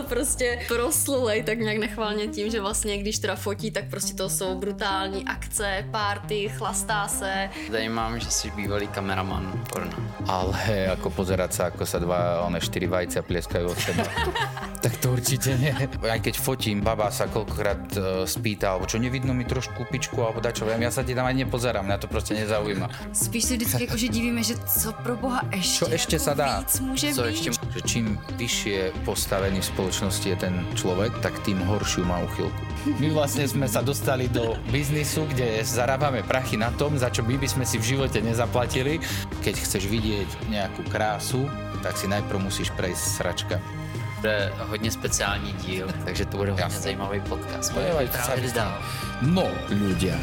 prostě proslulej tak nějak nechvalně tím, že vlastně když teda fotí, tak prostě to jsou brutální akce, party, chlastá se. Tady mám, že jsi bývalý kameraman porna. Ale ako pozerať sa, ako sa štyri vajcia plieskajú od seba. Tak to určite nie. Aj keď fotím, baba sa koľkokrát spýta, alebo čo nevidno mi trošku pičku, alebo dačo, ja sa ti tam ani nepozerám, mňa to proste nezaujíma. Spíš si vždycky jakože divíme, že co pro boha ještě, Čo ešte jako sa dá? víc může Co být. ešte, že čím vyššie postavený v spoločnosti je ten človek, tak tým horšiu má uchylku. My vlastne sme sa dostali do biznisu, kde zarábame prachy na tom, za čo my by sme si v živote nezaplatili. Keď chceš vidieť nejakú krásu, tak si najprv musíš prejsť sračka. Bude hodně speciální díl, takže to bude hodně Jasne. zajímavý podcast. Pojďme Právě dál. No, ľudia.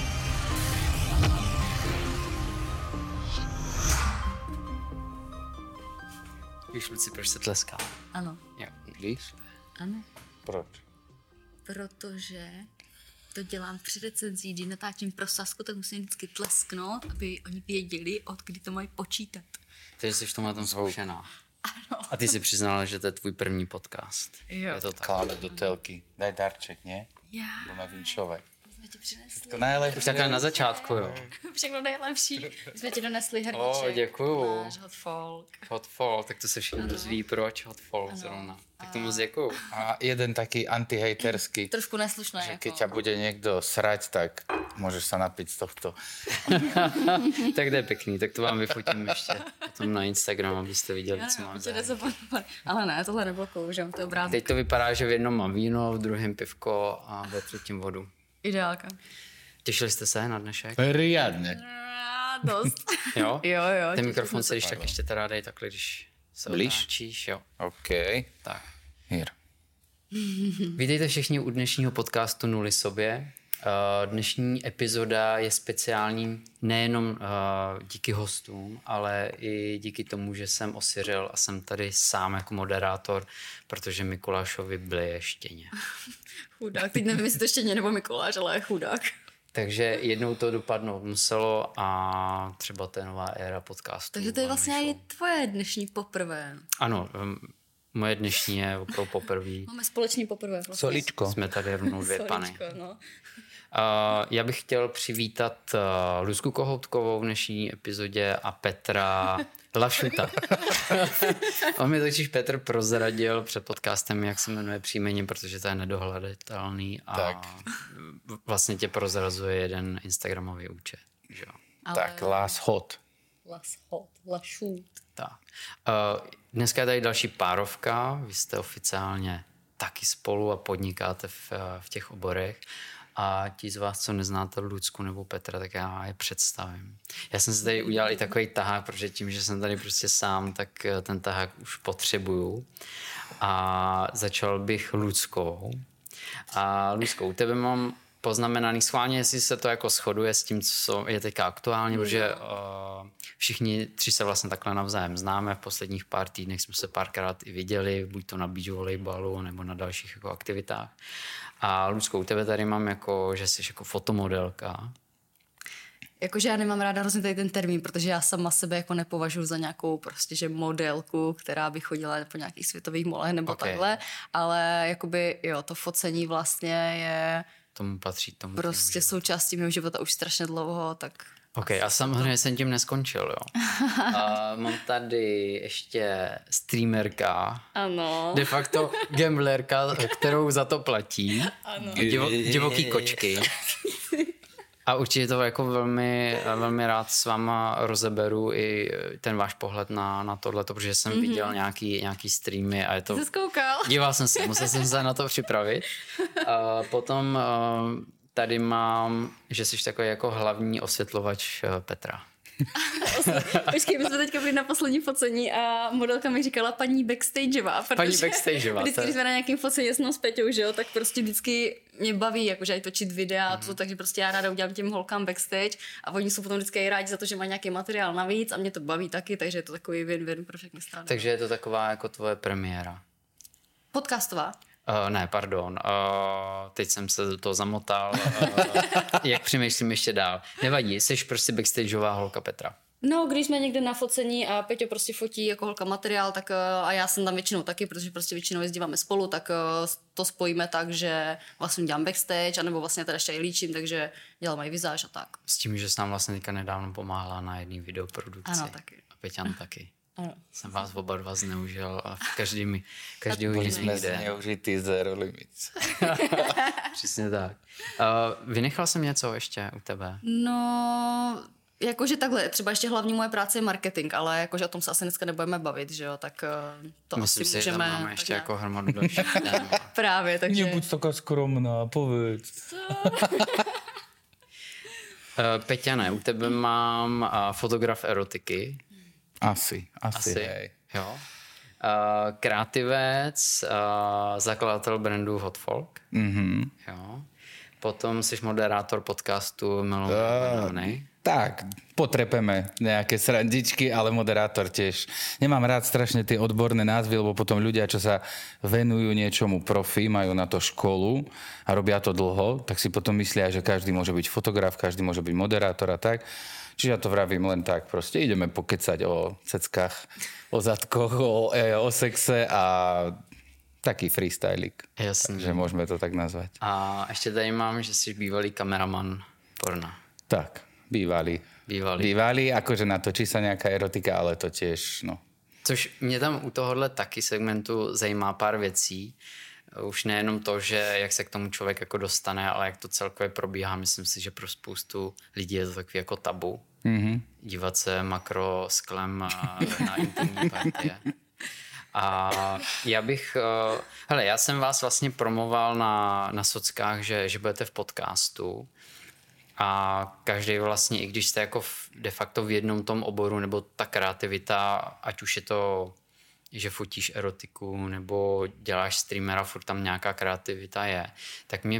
Víš, Luci, proč se tleská? Ano, Jo. Víš? ano, Proč? protože to dělám při recenzí, když natáčím pro Sasku, tak musím vždycky tlesknout, aby oni věděli, od kdy to mají počítat. Takže jsi v tomhle tom zkušená. Ano. A ty si přiznala, že to je tvůj první podcast. Jo. Je to tak. Kláme do telky. Daj darček, nie? Já Budeme vinšovať. jsme ti přinesli To najlepšie. Už takhle na začátku, jo. všechno nejlepší. My jsme ti donesli hrníček. O, děkuju. Náš hot folk. Hot fall, tak to se všichni dozví, proč hot fall zrovna. Tak to moc děkuju. A jeden taký antihejterský, Trošku neslušné. že Jako. keď ťa bude niekto srať, tak môžeš sa napiť z tohto. Tak to je pěkný, tak to vám vyfotím ještě potom na Instagram, abyste viděli, co mám za. Ale ne, tohle nebylo kouřem, to je obrázek. Teď to vypadá, že v jednom mám víno, v druhém pivko a ve třetím vodu. Ideálka. Těšili jste se na dnešek? Riadne. Dost. Jo? Jo. Ten mikrofon se když tak ještě teda dej takhle, když se Blíž? otáčíš, jo. OK. Tak. Here. Vítejte všichni u dnešního podcastu Nuly sobě. Dnešní epizoda je speciální nejenom díky hostům, ale i díky tomu, že jsem osiřel a jsem tady sám jako moderátor, protože Mikulášovi bleje štěně. Chudák, teď nevím, jestli to ještě nebo Mikuláš, ale chudák. Takže jednou to dopadnout muselo a třeba to je nová éra podcastu. Takže to je vlastně i tvoje dnešní poprvé. Ano, moje dnešní je opravdu poprvé. Máme společný poprvé. Vlastně. Soličko. Jsme tady rovnou dvě pany. Soličko, no. Já bych chtěl přivítat Luzku Kohoutkovou v dnešní epizodě a Petra Lašuta. On mi totiž Petr prozradil před podcastem, jak se jmenuje příjmení, protože to je nedohledatelný a Tak. vlastně tě prozrazuje jeden instagramový účet. Že jo? Tak, Last Hot. Lašut. Tak. Dneska je tady další párovka, vy jste oficiálně taky spolu a podnikáte v těch oborech. A ti z vás, co neznáte Lucku nebo Petra, tak já je představím. Já jsem si tady udělal i takový tahák, protože tím, že jsem tady prostě sám, tak ten tahák už potřebuju. A začal bych Luckou. A Luckou, u tebe mám poznamenaný schválně, jestli se to jako shoduje s tím, co je teďka aktuálně, protože všichni tři se vlastně takhle navzájem známe. V posledních pár týdnech jsme se párkrát i viděli, buď to na beach volejbalu nebo na dalších jako aktivitách. A Lucko, u tebe tady mám jako, že jsi jako fotomodelka. Jakože já nemám ráda hrozně tady ten termín, protože já sama sebe jako nepovažuji za nějakou prostě, že modelku, která by chodila po nějakých světových molech nebo takhle, ale jakoby jo, to focení vlastně je Tomu patří tomu. prostě součástí mého života už strašně dlouho, tak... OK, a samozřejmě jsem tím neskončil, jo. A mám tady ještě streamerka. Ano. De facto gamblerka, kterou za to platí. Ano. Divoký kočky. A určitě to jako velmi, velmi rád s váma rozeberu i ten váš pohled na tohleto, protože jsem viděl nějaký streamy a je to... Jsi zkoukal? Díval jsem se, musel jsem se na to připravit. A potom tady mám, že jsi takový jako hlavní osvětlovač Petra. Počkej, my jsme teďka byli na poslední focení a modelka mi říkala paní backstageová. Paní backstageová. Vždycky, když jsme na nějakém focení s Peťou, že jo, tak prostě vždycky mě baví, jakože aj točit videa a to, takže prostě já ráda udělám těm holkám backstage a oni jsou potom vždycky rádi za to, že mají nějaký materiál navíc a mě to baví taky, takže je to takový win-win pro všechny strany. Takže je to taková jako tvoje premiéra. Podcastová? Ne, pardon. Teď jsem se do toho zamotal. Jak přemýšlím ještě dál. Nevadí, jsi prostě backstageová holka Petra. No, když jsme někde na focení a Peťo prostě fotí jako holka materiál, tak a já jsem tam většinou taky, protože prostě většinou jezdíváme spolu, tak to spojíme tak, že vlastně dělám backstage, anebo vlastně teda ještě i líčím, takže dělám i vizáž a tak. S tím, že jsi nám vlastně teďka nedávno pomáhala na jedné videoprodukci. Ano, taky. A Peťan taky. Ano. Jsem vás oba dva zneužil a každý jiný Byli jsme jde. zneužitý Zero Limits. Přesně tak. Vynechal jsem něco ještě u tebe? No, jakože takhle, třeba ještě hlavní moje práce je marketing, ale jakože o tom se asi dneska nebudeme bavit, že jo, tak to Myslím asi si, můžeme... že tam máme ještě jako hromadu dalších témat. Právě, takže... Nebuď taká skromná, povedz. Peťane, u tebe mám fotograf erotiky. Asi, hej. Jo. Kreativec, zakladatel brandu Hot Folk. Mhm. Jo. Potom jsi moderátor podcastu Milovaný. Tak, potrepeme nejaké srandičky, ale moderátor tiež. Nemám rád strašne tie odborné názvy, lebo potom ľudia, čo sa venujú niečomu profi, majú na to školu a robia to dlho, tak si potom myslia, že každý môže byť fotograf, každý môže byť moderátor a tak. Čiže ja to vravím len tak, proste ideme pokecať o ceckách, o zadkoch, o sexe a taký freestylik. Jasný. Takže môžeme to tak nazvať. A ještě tady mám, že jsi bývalý kameraman porna. Tak, bývalý, akože natočí sa nejaká erotika, ale to tiež, no. Což mě tam u tohohle taky segmentu zajímá pár věcí. Už nejenom to, že jak se k tomu člověk jako dostane, ale jak to celkově probíhá. Myslím si, že pro spoustu lidí je to takový jako tabu. Mm-hmm. Dívat se makro sklem na intimní partie. A já jsem vás vlastně promoval na sockách, že budete v podcastu. A každý vlastně, i když jste jako de facto v jednom tom oboru, nebo ta kreativita, ať už je to, že fotíš erotiku, nebo děláš streamera, furt tam nějaká kreativita je, tak mě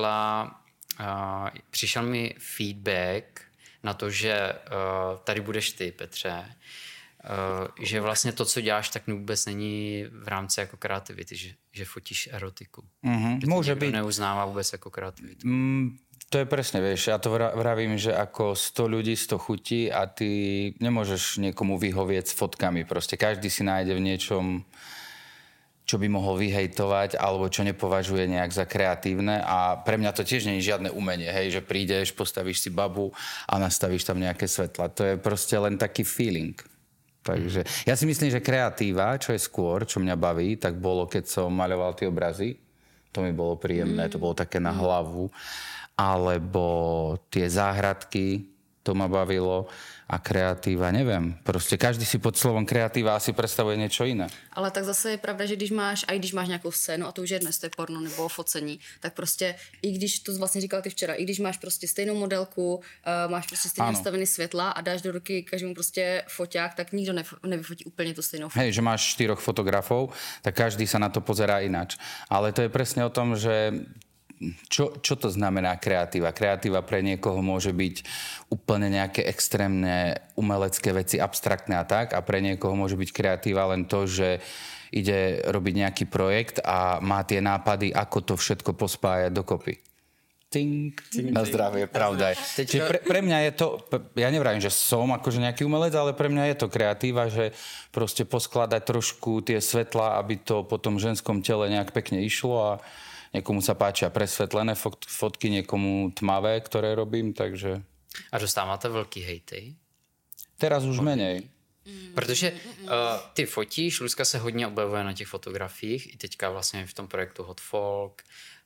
přišel mi feedback na to, že tady budeš ty, Petře, že vlastně to, co děláš, tak vůbec není v rámci jako kreativity, že fotíš erotiku. Mm-hmm. Môže byť. Neuznává vůbec jako kreativitu. To je presne, vieš, ja to vravím, že ako 100 ľudí, 100 chutí a ty nemôžeš niekomu vyhovieť s fotkami. Proste každý si nájde v niečom, čo by mohol vyhejtovať alebo čo nepovažuje nejak za kreatívne a pre mňa to tiež nie je žiadne umenie, hej, že prídeš, postavíš si babu a nastavíš tam nejaké svetla. To je proste len taký feeling. Takže ja si myslím, že kreatíva, čo je skôr, čo mňa baví, tak bolo, keď som maľoval tie obrazy. To mi bolo príjemné, to bolo také na hlavu. Alebo tie záhradky, to ma bavilo. A kreatíva, neviem. Proste každý si pod slovom kreatíva asi predstavuje niečo iné. Ale tak zase je pravda, že když máš nějakou scénu, a to už je dnes, to je porno nebo focení, tak prostě, i když to vlastně říkal ty včera, i když máš prostě stejnou modelku, máš prostě stejně nastavený světla a dáš do ruky každému prostě foťák, tak nikdo nevyfotí úplně tu stejnou fotku. Hej, že máš 4 fotografov, tak každý sa na to pozerá ináč. Ale to je presne o tom, že čo to znamená kreatíva? Kreatíva pre niekoho môže byť úplne nejaké extrémne umelecké veci, abstraktné a tak, a pre niekoho môže byť kreatíva len to, že ide robiť nejaký projekt a má tie nápady, ako to všetko pospájať dokopy. Tink, na zdravie, pravda je. Čiže pre mňa je to, ja nevravím, že som akože nejaký umelec, ale pre mňa je to kreatíva, že proste poskladať trošku tie svetlá, aby to po tom ženskom tele nejak pekne išlo a niekomu sa páčia presvetlené fotky, niekomu tmavé, ktoré robím, takže... A dostáváte velký hejty? Teraz už menej. Protože ty fotíš, Luzka se hodně objevuje na těch fotografiích, i teďka vlastně v tom projektu Hot Folk.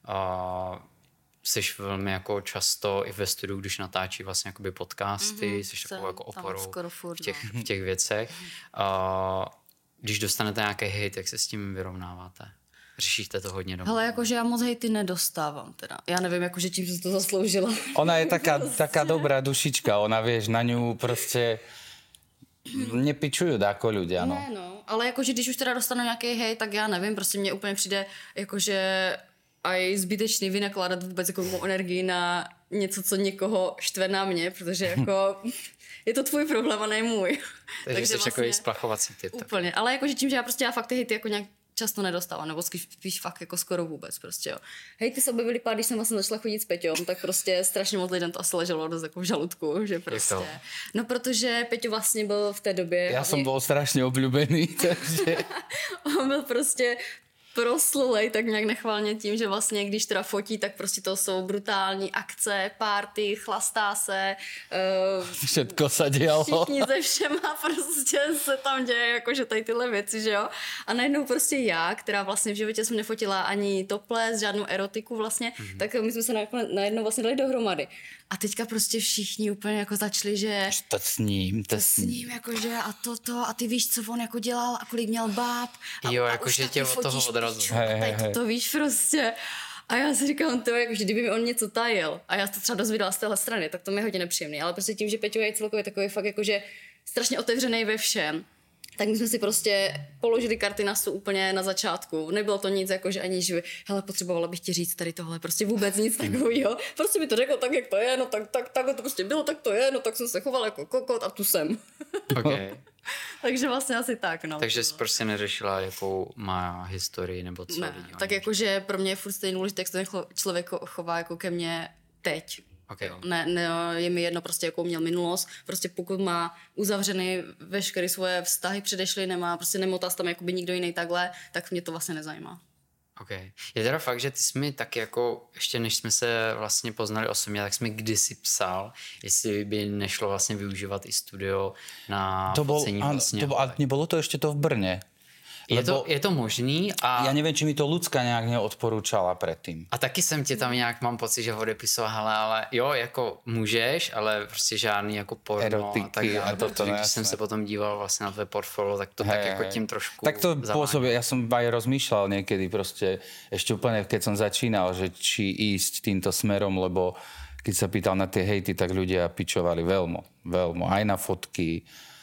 Jsi velmi jako často i ve studiu, když natáčí vlastně jakoby podcasty, jsi takovou jako oporou v těch věcech. Když dostanete nějaký hejt, jak se s tím vyrovnáváte? Řešíte to hodně doma? Ale jakože já moc hejty nedostávám teda. Já nevím, jakože čím se to zasloužila. Ona je taká dobrá dušička, ona vieš, na ňu proste nepičujú dáko ľudia, no. Ne, no, ale jakože když už teda dostanu nějaký hejt, tak já nevím, prostě mně úplně přijde jakože aj zbytečný vynakládat vůbec jako mou energii na něco, co někoho štve na mě, protože jako je to tvůj problém a ne můj. Takže jsi vlastně takový splachovací typ. Úplně, ale jakože tím, že já prostě fakt ty hejty jako nějak často nedostala, nebo spíš fakt jako skoro vůbec prostě, jo. Hej, ty se objevily pár, když jsem vlastně začala chodit s Peťom, tak prostě strašně moc lidem to asi leželo dost jako v žaludku, že prostě. No, protože Peťo vlastně byl v té době... Já jsem byl strašně oblíbený, takže... On byl prostě proslulej tak nějak nechvalně tím, že vlastně když teda fotí, tak prostě to jsou brutální akce, party, chlastá se. Všetko se dělalo. Všichni ze všema prostě se tam děje, jakože tady tyhle věci, že jo. A najednou prostě já, která vlastně v životě jsem nefotila ani topless, žádnou erotiku vlastně, tak my jsme se najednou vlastně dali dohromady. A teďka prostě všichni úplně jako začali, že... To s ním. Jakože a toto, a ty víš, co on jako dělal a kolik měl báb. Jo, jakože tě od toho odrazu. To víš prostě. A já si říkám, to jakože kdyby mi on něco tajil a já to třeba dozvěděla z téhle strany, tak to mi je hodně nepříjemný. Ale prostě tím, že Peťo je celkově takový fakt jakože strašně otevřený ve všem, tak my jsme si prostě položili karty na stůl úplně na začátku. Nebylo to nic jako, že ani, že hele, potřebovala bych ti říct tady tohle, prostě vůbec nic takového. Prostě mi to řekl tak, jak to je, no tak to prostě bylo, tak to je, no tak jsem se chovala jako kokot a tu jsem. Okay. Takže vlastně asi tak, no. Takže jsi prostě neřešila, jakou má historii nebo co ne, lidí. tak jakože pro mě je furt stejný důležité, jak se ten člověk chová jako ke mně teď. Okay. Ne, je mi jedno prostě, jakou měl minulost. Prostě pokud má uzavřeny veškeré svoje vztahy předešly, nemá, prostě nemotá tam jakoby nikdo jiný takhle, tak mě to vlastně nezajímá. Okay. Je teda fakt, že ty jsi mi taky jako, ještě než jsme se vlastně poznali osobně, tak jsi mi kdysi psal, jestli by nešlo vlastně využívat i studio na focení vlastně. A nebylo to ještě to v Brně? Je to možný a... Já nevím, či mi to Lucka nějak neodporúčala předtím. A taky jsem tě tam nějak, mám pocit, že odepisoval, hele, ale jo, jako můžeš, ale prostě žádný jako porno erotiky a tak dále. Když jsem se potom díval vlastně na tvé portfolio, tak to tak jako tím trošku tak to zavání. pôsobí, ja som aj rozmýšľal niekedy proste, ešte úplne keď som začínal, že či ísť týmto smerom, lebo keď sa pýtal na tie hejty, tak ľudia pičovali veľmi, aj na fotky,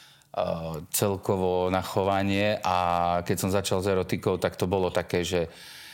celkovo na chovanie a keď som začal s erotikou, tak to bolo také, že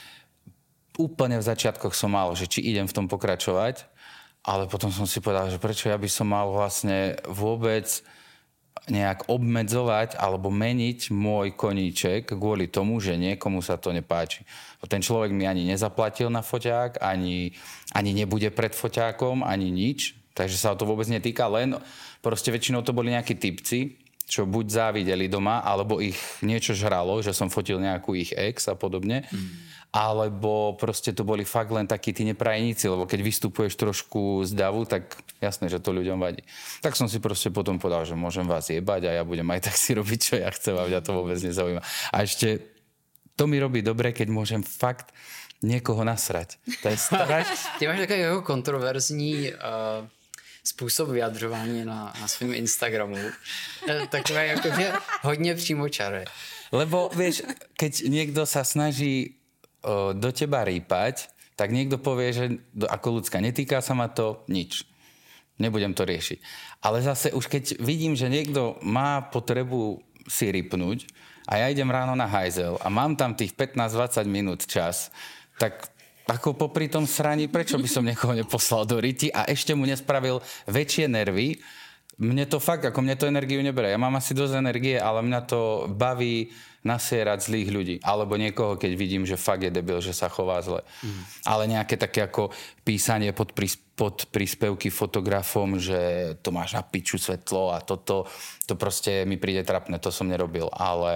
úplne v začiatkoch som mal, že či idem v tom pokračovať, ale potom som si povedal, že prečo ja by som mal vlastne vôbec nejak obmedzovať alebo meniť môj koníček kvôli tomu, že niekomu sa to nepáči. Ten človek mi ani nezaplatil na foťák, ani nebude pred foťákom, ani nič, takže sa to vôbec netýka, len proste väčšinou to boli nejakí typci, čo buď závideli doma, alebo ich niečo žralo, že som fotil nejakú ich ex a podobne, alebo proste to boli fakt len takí tí neprajeníci, lebo keď vystupuješ trošku z davu, tak jasné, že to ľuďom vadí. Tak som si proste potom povedal, že môžem vás jebať a ja budem aj tak si robiť, čo ja chcem a mňa to vôbec nezaujíma. A ešte to mi robí dobre, keď môžem fakt niekoho nasrať. To je strašné. Ty máš takový jako kontroverzní způsob vyjadřování na svém Instagramu. Takové jakože hodně přímočaré. Lebo vieš, keď niekto sa snaží do teba rýpať, tak niekto povie, že ako ľudská, netýka sa ma to nič. Nebudem to riešiť. Ale zase už keď vidím, že niekto má potrebu si rýpnuť a ja idem ráno na hajzel a mám tam tých 15-20 minút čas, tak ako popri tom sraní, prečo by som niekoho neposlal do ryti a ešte mu nespravil väčšie nervy. Mne to fakt, ako mne to energiu nebere. Ja mám asi dosť energie, ale mňa to baví nasierať zlých ľudí. Alebo niekoho, keď vidím, že fakt je debil, že sa chová zle. Ale nejaké také ako písanie pod príspevky fotografom, že to máš na piču svetlo a toto, to proste mi príde trapné, to som nerobil.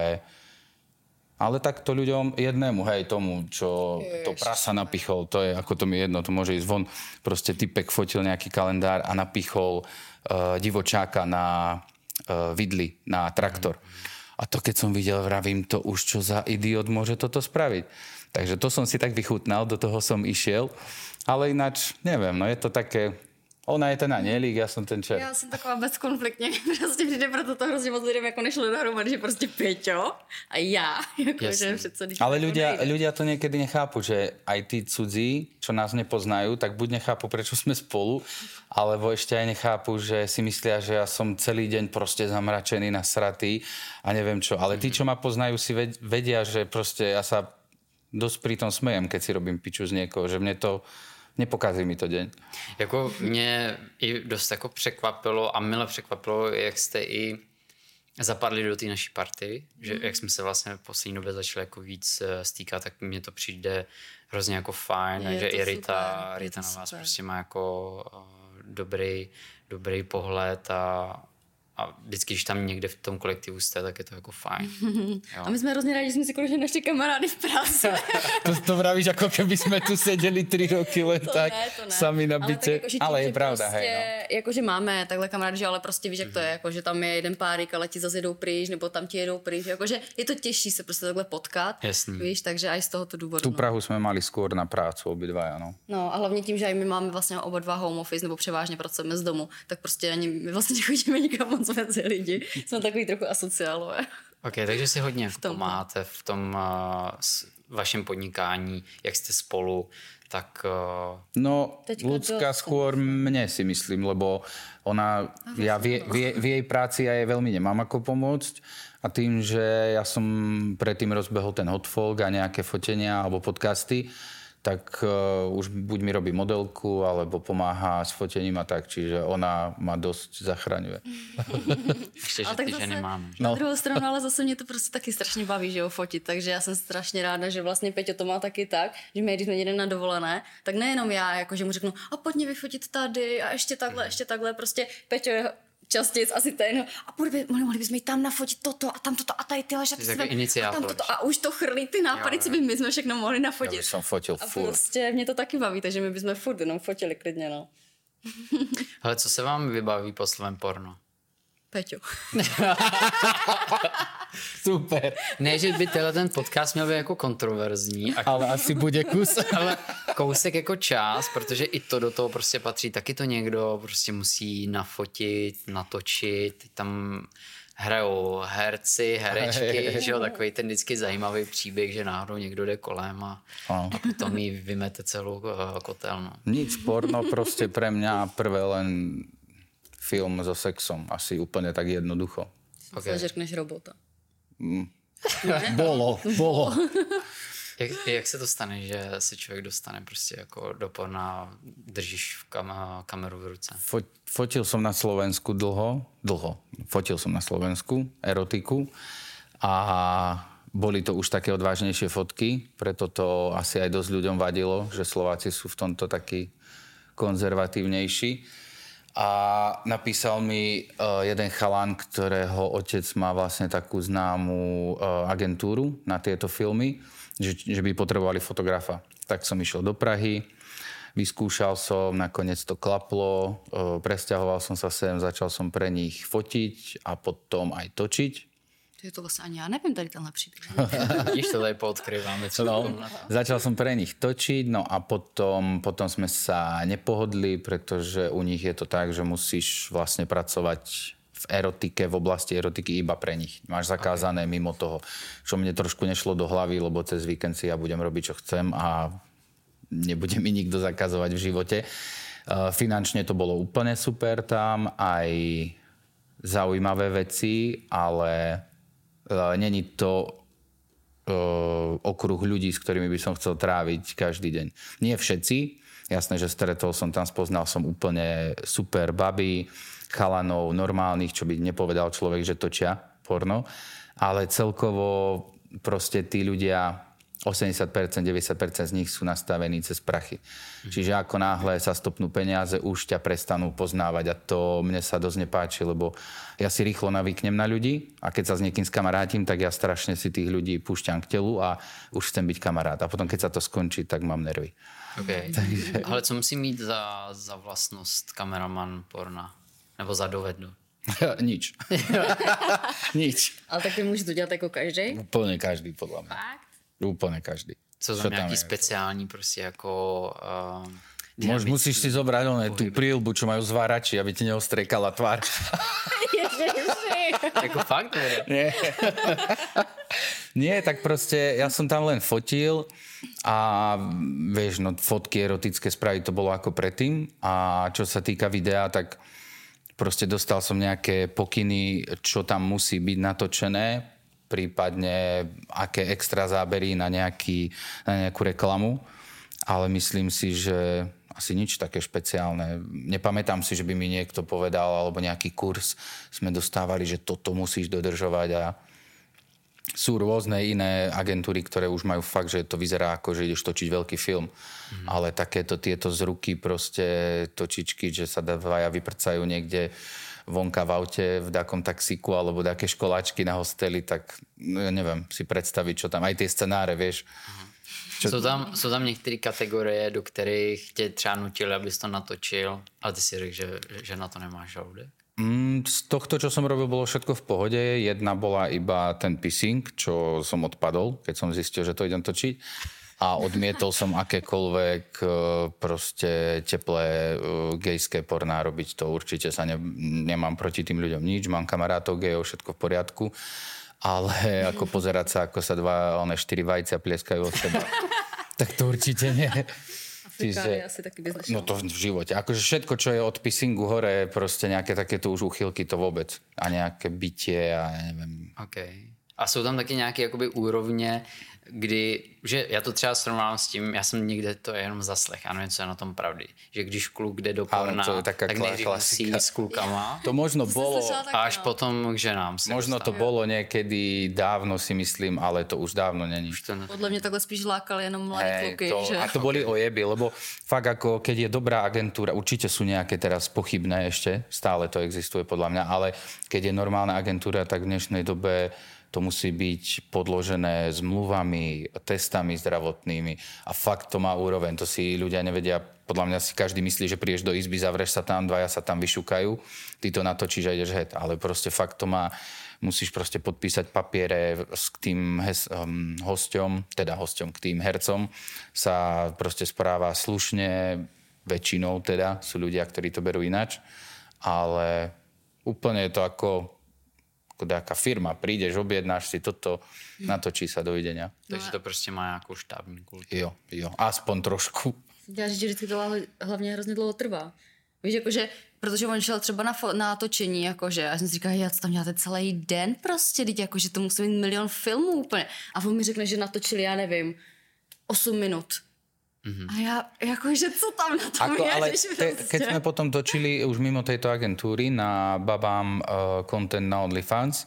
Ale tak to ľuďom jednému, hej, tomu, čo to prasa napichol, to je, ako to mi jedno, to môže ísť von. Proste typek fotil nejaký kalendár a napichol divočáka na vidli, na traktor. A to keď som videl, vravím, to už čo za idiot môže toto spraviť. Takže to som si tak vychutnal, do toho som išiel. Ale ináč, neviem, no je to také... Ona je ten anělík, já jsem ten čert. Já jsem taková bezkonfliktně, prostě přijde proto to hrozně moc lidem jako nešlo dohromady, že prostě Peťo a já. Jako, že přece, ale ľudia to niekedy nechápu, že aj tí cudzí, čo nás nepoznajú, tak buď nechápu, prečo sme spolu, alebo ešte aj nechápu, že si myslia, že ja som celý deň proste zamračený, nasratý a neviem čo. Ale tí, čo ma poznajú, si vedia, že proste ja sa dosť pri tom smejem, keď si robím piču z niekoho, že mne to nepokazí mi to deň. Jako mě i dost jako překvapilo a mile překvapilo, jak jste i zapadli do té naší party, že jak jsme se vlastně v poslední době začali jako víc stýkat, tak mně to přijde hrozně jako fajn, že i Rita na vás prostě má jako dobrý pohled a vždycky, když tam někde v tom kolektivu jste, tak je to jako fajn. Jo. A my jsme hrozně rádi, že jsme si konečně našli kamarády v práci. to vravíš, jako keby jsme tu seděli 3 roky len tak sami na byte. Ale je pravda, prostě, hej, no. Jakože máme takhle kamarády, že ale prostě víš, jak to je, jakože tam je jeden párik, ale ti zase jedou pryč, nebo tam ti jedou pryč, jakože je to těžší se prostě takhle potkat. Jasný. Víš, takže aj z tohoto důvodu. Tu Prahu jsme mali skôr na prácu obidvaja, no. No a hlavně tím, že aj my máme vlastně oba dva home office, nebo převážně pracujeme z domu, tak prostě ani my vlastně nechodíme nikam moc mezi lidi. Jsme takový trochu asociálové. Ok, takže si hodně pomáháte v tom vašem podnikání, jak jste spolu, tak... No, Ľudská skôr mne si myslím, lebo ona, ja v jej práci ja jej veľmi nemám ako pomôcť a tým, že ja som predtým rozbehol ten Hotfolk a nejaké fotenia alebo podcasty, tak už buď mi robí modelku, alebo pomáha s fotením a tak, čiže ona ma dosť zachraňuje. Ještě, že ty ženy máme. Na druhou stranu, ale zase mě to prostě taky strašně baví, že jo, fotit, takže já jsem strašně ráda, že vlastně Peťo to má taky tak, že my, když jsme jedeme na dovolené, tak nejenom já, jakože mu řeknu, a pojď mě vyfotit tady a ještě takhle, prostě Peťo je častěji asi ten a mohli bychom jít tam nafotit toto a tam toto a tady tyhle šaty a tam toto a už to chrlí ty nápady, co by my jsme všechno mohli nafotit. Já bych som fotil a furt. prostě mě to taky baví, takže my bychom furt jenom fotili klidně, no. Ale co se vám vybaví po slovem porno? Peťo. Super. Ne, že by ten podcast měl být jako kontroverzní. Ale asi bude kus. Ale kousek jako čas, protože i to do toho prostě patří. Taky to někdo prostě musí nafotit, natočit. Tam hrajou herci, herečky, že jo, takový ten vždycky zajímavý příběh, že náhodou někdo jde kolem a potom jí vymete celou kotelnu. Nic, porno prostě pre mňa prvé len film so sexom. Asi úplne tak jednoducho. Okay. Zažerkneš robota. Bolo. Jak se to stane, že se člověk dostane prostě jako do porna, držíš kameru v ruce? Fotil som na Slovensku dlho. Fotil som na Slovensku erotiku a boli to už také odvážnejšie fotky, preto to asi aj dosť ľuďom vadilo, že Slováci sú v tomto takí konzervatívnejší. A napísal mi jeden chalan, ktorého otec má vlastne takú známú agentúru na tieto filmy, že by potrebovali fotografa. Tak som išiel do Prahy, vyskúšal som, nakoniec to klaplo, presťahoval som sa sem, začal som pre nich fotiť a potom aj točiť. Je to vlastně ani já nevím tady tenhle příběh. Vidíš, to tady poodkryváme. Začal som pre nich točiť, no a potom sme sa nepohodli, pretože u nich je to tak, že musíš vlastne pracovať v erotike, v oblasti erotiky iba pre nich. Máš zakázané mimo toho, čo mne trošku nešlo do hlavy, lebo cez víkend si ja budem robiť, čo chcem a nebude mi nikto zakazovať v živote. Finančne to bolo úplne super tam, aj zaujímavé veci, ale není to okruh ľudí, s ktorými by som chcel tráviť každý deň. Nie všetci. Jasné, že stretol som tam, spoznal som úplne super baby, chalanov, normálnych, čo by nepovedal človek, že točia porno. Ale celkovo proste tí ľudia, 80%, 90% z nich sú nastavení cez prachy. Čiže ako náhle sa stopnú peniaze, už ťa prestanú poznávať a to mne sa dosť nepáči, lebo ja si rýchlo navyknem na ľudí a keď sa s niekým skamarátim, tak ja strašne si tých ľudí púšťam k telu a už chcem byť kamarát. A potom, keď sa to skončí, tak mám nervy. Okay. Ale co musí mít za vlastnost kameraman porna? Nebo za dovednu? Nič. Nič. Ale tak může to dělat jako každý? Úplne každý, podľa mňa. Fakt? Úplne každý. Co tam nějaký speciální prostě jako... Musíš si zobrať tú príľbu, čo majú zvárači, aby ti neostrekala tvár. Jako fakt? Nie. Nie, tak proste ja som tam len fotil a vieš, no fotky erotické spraviť to bolo ako predtým a čo sa týka videa, tak proste dostal som nejaké pokyny, čo tam musí byť natočené, prípadne aké extra zábery na nejakú reklamu. ale myslím si, že asi nič také špeciálne. Nepamätám si, že by mi niekto povedal, alebo nejaký kurz sme dostávali, že toto musíš dodržovať a sú rôzne iné agentúry, ktoré už majú fakt, že to vyzerá ako, že ideš točiť veľký film. Ale takéto tieto z ruky proste točičky, že sa dvaja vyprcajú niekde vonka v aute, v takom taxíku alebo také školáčky na hosteli, tak no, ja neviem si predstaviť, čo tam, aj tie scenáře, vieš. Jsou tam některé kategorie, do kterých tě třeba nutili, abys to natočil, ale ty si řekl, že na to nemáš žaludek? Z tohto, čo som robil, bolo všetko v pohode. Jedna bola iba ten pissing, čo som odpadol, keď som zistil, že to idem točiť. A odmietol som akékoľvek proste teplé gejské porná robiť. To určite sa nemám proti tým ľuďom nič. Mám kamarátov gejov, všetko v poriadku. Ale ako pozerať sa, ako sa štyri vajcia plieskajú od seba, tak to určite nie. Afrikány asi taky by znašel. No to v živote. Akože všetko, čo je od pissingu hore, proste nejaké takéto už úchylky, to vôbec. A nejaké bytie a ja neviem. Okay. A jsou tam taky nějaké jakoby úrovně, kdy, že já to třeba srovnám s tím, já jsem někde to jenom zaslech, a nevím, co je na tom pravdy, že když kluk jde do porna, tak nejdřív musí s klukama. To možno bolo, a až potom k ženám. Možno to bolo niekedy dávno, si myslím, ale to už dávno není. Podle mě takhle spíš lákali jenom mladé kluky. Že? A to boli ojeby, lebo fakt ako, keď je dobrá agentúra, určite sú nejaké teraz pochybné ešte, stále to existuje podľa mňa, ale keď je normálna agentúra, tak v dnešnej dobe to musí byť podložené zmluvami, testami zdravotnými a fakt to má úroveň. To si ľudia nevedia, podľa mňa si každý myslí, že prídeš do izby, zavreš sa tam, dvaja sa tam vyšukajú, ty to natočíš a ideš het, ale proste fakt to má, musíš proste podpísať papiere s tým hosťom, k tým hercom sa proste správa slušne, väčšinou teda, sú ľudia, ktorí to berú inač, ale úplne je to ako nejaká firma, prídeš, objednáš si toto, natočí sa, dovidenia. Takže to prostě má nějakou štábní kulturu. Jo, aspoň trošku. Já říct, že vždycky to hlavně hrozně dlouho trvá. Víš, jakože, protože on šel třeba na točení, jakože, a jsem si říkala, já to tam děláte celý den prostě, teď jakože to musí mít milion filmů úplně. A on mi řekne, že natočili, já nevím, 8 minut. A ja, akože co tam na tom je? Ale keď sme potom točili už mimo tejto agentúry na babám content na OnlyFans,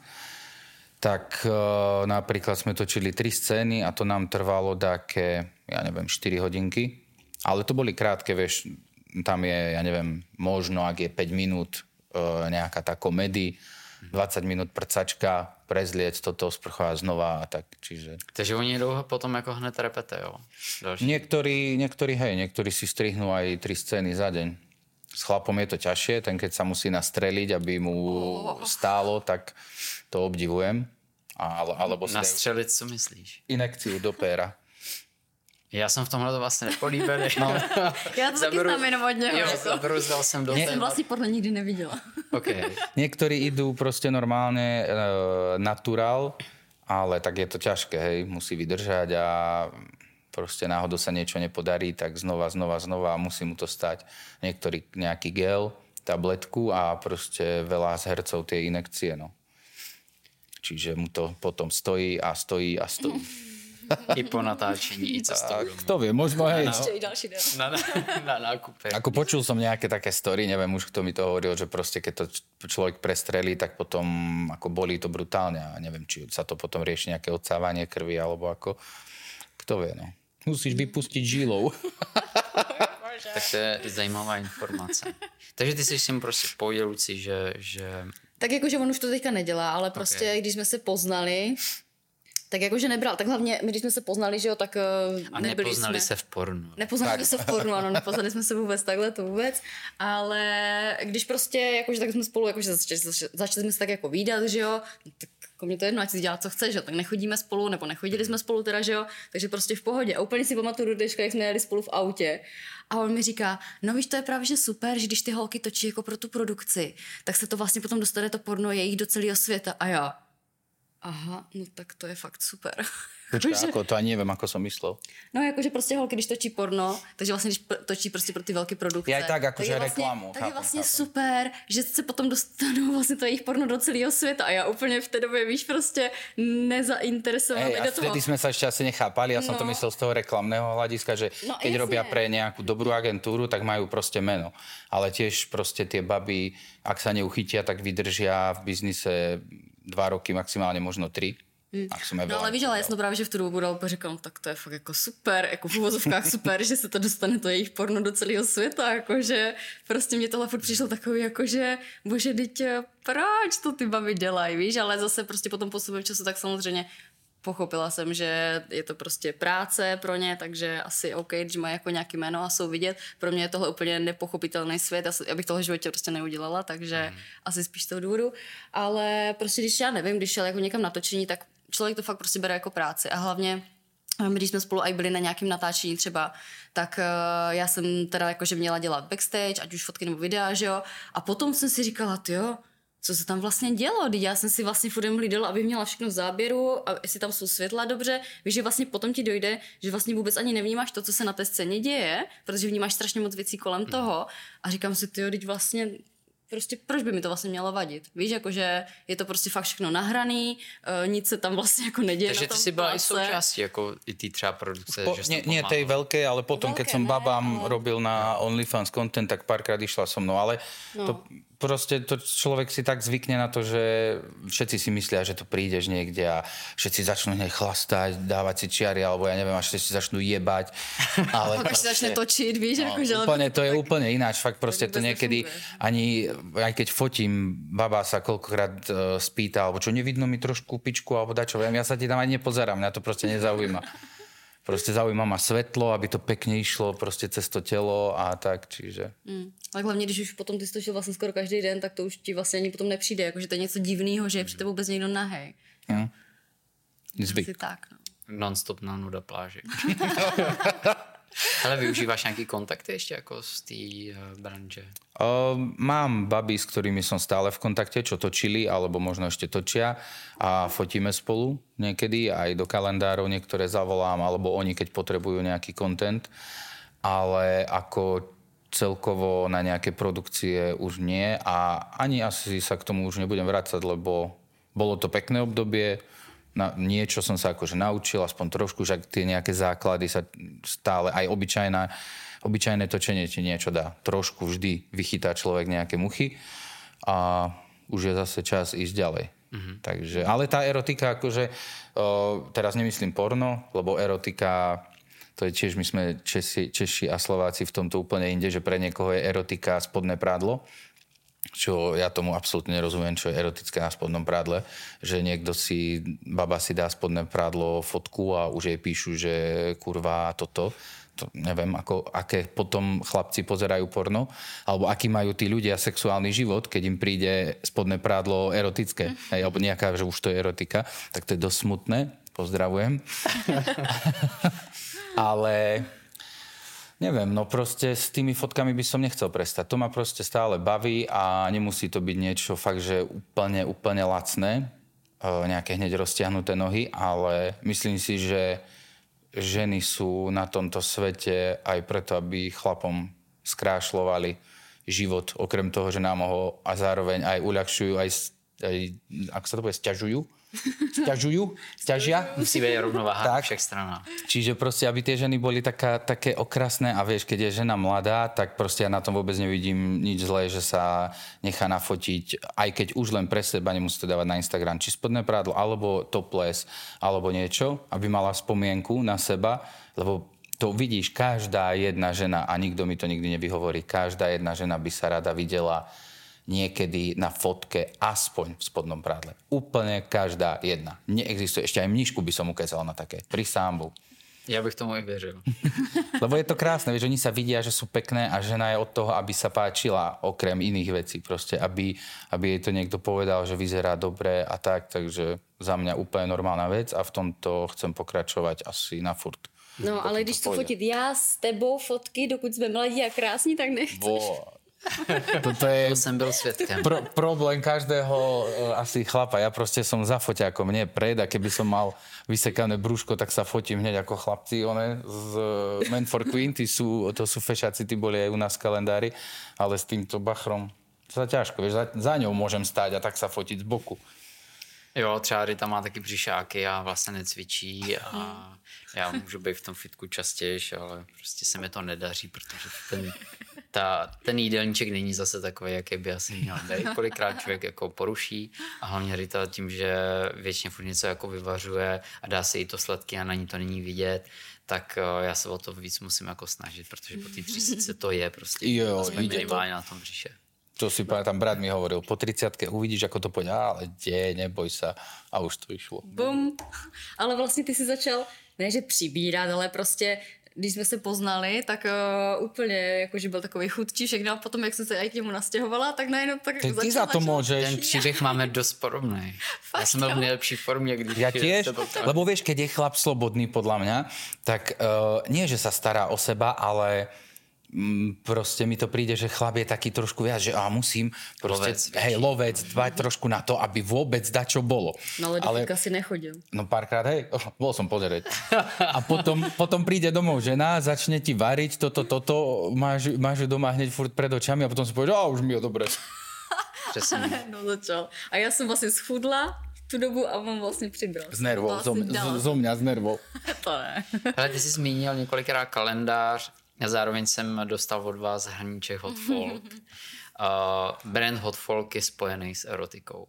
tak napríklad sme točili 3 scény a to nám trvalo také, ja neviem, 4 hodinky. Ale to boli krátke, vieš, tam je, ja neviem, možno, ak je 5 minút nejaká tá komedy, 20 minút prcačka, prezliec toto, sprchovať znova a tak, čiže... Takže oni dlouho potom jako hned repetujou. Niektorí si strihnú aj 3 scény za deň. S chlapom je to ťažšie, ten keď sa musí nastreliť, aby mu stálo, tak to obdivujem. Alebo nastřelit, co myslíš? Inekciu do péra. Já jsem v tomhle to vlastně nepolíbený. No. Já to taky znám jenom od něho. Jo, zabruzdal jsem do téma. Já jsem vlastně podle nikdy neviděla. Okay. Niektorí idú proste normálne naturál, ale tak je to ťažké, hej, musí vydržať a proste náhodou sa niečo nepodarí, tak znova a musí mu to stať. Niektorý nejaký gel, tabletku a proste veľa z hercov tie inekcie, no. Čiže mu to potom stojí. I po natáčení, i cestou. Kto vie, možno hej. Ešte i ďalší den. Na nákupe. Ako počul som nejaké také story, neviem už, kto mi to hovoril, že proste keď to človek prestrelí, tak potom ako bolí to brutálne a neviem, či sa to potom rieši nejaké odsávanie krvi, alebo ako, kto vie, no. Musíš vypustiť žilou. Tak to je zajímavá informace. Takže ty jsi s tím prostě v pohodě, Luci, že... Tak jakože on už to teďka nedělá, ale prostě, když jsme se poznali, tak jakože nebral. Tak hlavně, my když jsme se poznali, že jo, tak a nepoznali se v pornu. Nepoznali se v pornu, ano, nepoznali jsme se vůbec takhle, to vůbec. Ale když prostě, jakože tak jsme spolu, jakože začali jsme se tak jako vídat, že jo, tak jako mě to jedno, ať si dělá, co chce, že jo, tak nechodíme spolu, nebo nechodili jsme spolu teda, že jo, takže prostě v pohodě. A úplně si pamatuju do dneška, jak jsme jeli spolu v autě. A on mi říká, no víš, to je právě že super, že když ty holky točí jako pro tu produkci, tak se to vlastně potom dostane to porno jejich do celého světa. A já, aha, no tak to je fakt super. Počkaj, ako to ani neviem, ako som myslel. No jakože prostě holky, když točí porno, takže vlastně když točí prostě pro ty velké produkce. Je tak, akože vlastně, reklamu. Tak je vlastně super, že se potom dostanou vlastně to jejich porno do celého světa a já úplně v té době, víš, prostě nezainteresovaná do toho. A vtedy sme sa ešte asi nechápali, ja som to myslel z toho reklamného hľadiska, že keď robia pre nejakú dobrú agentúru, tak majú proste meno. Ale tiež proste tie baby, ak sa neuchytia, tak vydržia v biznise 2 roky, maximálně možno 3. No ale víš, ale já jsem to právě, že v tu dobu dal říkám, tak to je fakt jako super, jako v uvozovkách super, že se to dostane to jejich porno do celého světa, jakože prostě mě tohle furt přišlo takový, jakože bože, dítě, proč to ty baby dělají, víš, ale zase prostě potom postupem času tak samozřejmě pochopila jsem, že je to prostě práce pro ně, takže asi OK, když mají jako nějaký jméno a jsou vidět. Pro mě je tohle úplně nepochopitelný svět, já bych tohle v životě prostě neudělala, takže asi spíš z toho důvodu. Ale prostě když já nevím, když šel jako někam natočení, tak člověk to fakt prostě bere jako práci a hlavně když jsme spolu i byli na nějakém natáčení třeba, tak já jsem teda jakože měla dělat backstage, ať už fotky nebo videa, že jo. A potom jsem si říkala, tyjo, co se tam vlastně dělo, když já jsem si vlastně furt hlídala, aby měla všechno v záběru a jestli tam jsou světla dobře, víš, že vlastně potom ti dojde, že vlastně vůbec ani nevnímáš to, co se na té scéně děje, protože vnímáš strašně moc věcí kolem toho a říkám si, tyjo, teď vlastně prostě proč by mi to vlastně mělo vadit? Víš, jakože je to prostě fakt všechno nahraný, nic se tam vlastně jako neděje. Takže ty si byla i součástí jako i ty třeba produkce, že nie tej veľkej, ale potom, keď som babám robil na OnlyFans content, tak párkrát išla so mnou, ale to proste to človek si tak zvykne na to, že všetci si myslia, že to prídeš niekde a všetci začnú hneď chlastať, dávať si čiary, alebo ja neviem, až všetci začnú jebať. Ale pak si začne točiť, víš, akože... Úplne, to je úplne ináč, fakt proste to niekedy ani, aj keď fotím, baba sa koľkokrát spýta, alebo čo, nevidno mi trošku pičku, alebo dačo, ja sa ti tam ani nepozerám, mňa to proste nezaujíma. Proste zaujíma ma svetlo, aby to pekne išlo prostě cez to tělo a tak, čiže... Ale hlavně, když už potom ty stočil vlastně skoro každý den, tak to už ti vlastně ani potom nepřijde, jakože to je něco divného, že je při tebe vůbec někdo nahej. Zvyk. Asi tak, no. Non-stop na nuda pláži. Ale využíváš nějaký kontakty ještě jako z té branže? Mám baby, s ktorými som stále v kontakte, čo točili, alebo možno ešte točia a fotíme spolu niekedy, aj do kalendárov niektoré zavolám, alebo oni, keď potrebujú nejaký content, ale ako celkovo na nejaké produkcie už nie a ani asi sa k tomu už nebudem vracať, lebo bolo to pekné obdobie, niečo som sa akože naučil, aspoň trošku, že tie nejaké základy sa stále, aj obyčajné točenie ti niečo dá. Trošku vždy vychytá človek nejaké muchy a už je zase čas ísť ďalej. Takže, ale tá erotika, akože, teraz nemyslím porno, lebo erotika, to je tiež, my sme Češi a Slováci v tomto úplne inde, že pre niekoho je erotika spodné prádlo, čo ja tomu absolútne nerozumiem, čo je erotické na spodnom prádle, že niekto si, baba si dá spodné prádlo fotku a už jej píšu, že kurva toto. To neviem, aké potom chlapci pozerajú porno, alebo aký majú tí ľudia sexuálny život, keď im príde spodné prádlo erotické, alebo nejaká, že už to je erotika, tak to je dosť smutné. Pozdravujem. Ale neviem, no proste s tými fotkami by som nechcel prestať. To ma proste stále baví a nemusí to byť niečo fakt, že úplne lacné, nejaké hneď roztiahnuté nohy, ale myslím si, že ženy sú na tomto svete aj preto, aby chlapom skrášľovali život, okrem toho, že nám ho a zároveň aj uľahčujú, aj ako sa to bude, sťažia? Musí byť rovnováha na všech stranách. Čiže proste, aby tie ženy boli také okrasné a vieš, keď je žena mladá, tak proste ja na tom vôbec nevidím nič zlé, že sa nechá nafotiť, aj keď už len pre seba, nemusí to dávať na Instagram, či spodné prádlo, alebo topless, alebo niečo, aby mala spomienku na seba, lebo to vidíš, každá jedna žena, a nikto mi to nikdy nevyhovorí, každá jedna žena by sa rada videla niekedy na fotke aspoň v spodnom prádle. Úplne každá jedna. Neexistuje. Ešte aj mníšku by som ukázal na také. Pri sámbu. Ja bych tomu i věřil. Lebo je to krásne, vieš, oni sa vidia, že sú pekné a žena je od toho, aby sa páčila okrem iných vecí. Proste, aby jej to niekto povedal, že vyzerá dobre a tak. Takže za mňa úplne normálna vec a v tomto chcem pokračovať asi na furt. No, ale když chci fotit já s tebou fotky, dokud jsme mladí a krásní, tak nechceš. Toto je... To jsem byl svědkem. Problém každého asi chlapa. Ja proste som za foťákom, nie pred, a keby som mal vysekané brúško, tak sa fotím hneď ako chlapci, z Men for Queen, to sú fešáci, tí boli aj u nás v kalendári, ale s týmto bachrom to ťažko, vieš, za ňou môžem stáť a tak sa fotiť z boku. Jo, třeba Rita má taky břišáky a vlastně necvičí a já můžu být v tom fitku častěji, ale prostě se mi to nedaří, protože ten jídelníček není zase takový, jaký by asi měl být. Kolikrát člověk jako poruší a hlavně Rita tím, že většině furt něco jako vyvařuje a dá se jí to sladký a na ní to není vidět, tak já se o to víc musím jako snažit, protože po té 30 to je prostě aspoň minimálně na tom břiše. To si pamätám, brat mi hovoril, po 30-ke uvidíš, ako to pôjde, ale neboj sa. A už to išlo. Bum. Ale vlastně ty si začal, ne že přibírat, ale prostě, když jsme se poznali, tak úplně, jakože byl takový chudčí všechno a potom, jak jsem se aj k němu nastěhovala, tak najednou tak začal. Ty za to môžeš. Ten příběh máme dost podobný. Já jsem byl v nejlepší formě, když... Ja tiež, lebo vieš, keď je chlap slobodný, podľa mňa, tak nie, že sa stará o seba, ale... proste mi to príde, že chlap je taký trošku viac, že musím proste, lovec, dbať trošku na to, aby vôbec dačo bolo. No ale do si nechodil. No párkrát, bol som pozerať. A potom príde domov žena, začne ti variť toto, máš doma hneď furt pred očami a potom si povieš, už mi je dobre. No začal. A ja som vlastne schudla tu dobu a on vlastně přibral. Z nervou, zo mňa z nervou. To ne. Ale ty jsi zmínil několikrát kalendář, a zároveň jsem dostal od vás hrníček Hot Folk. Brand Hot Folk je spojený s erotikou.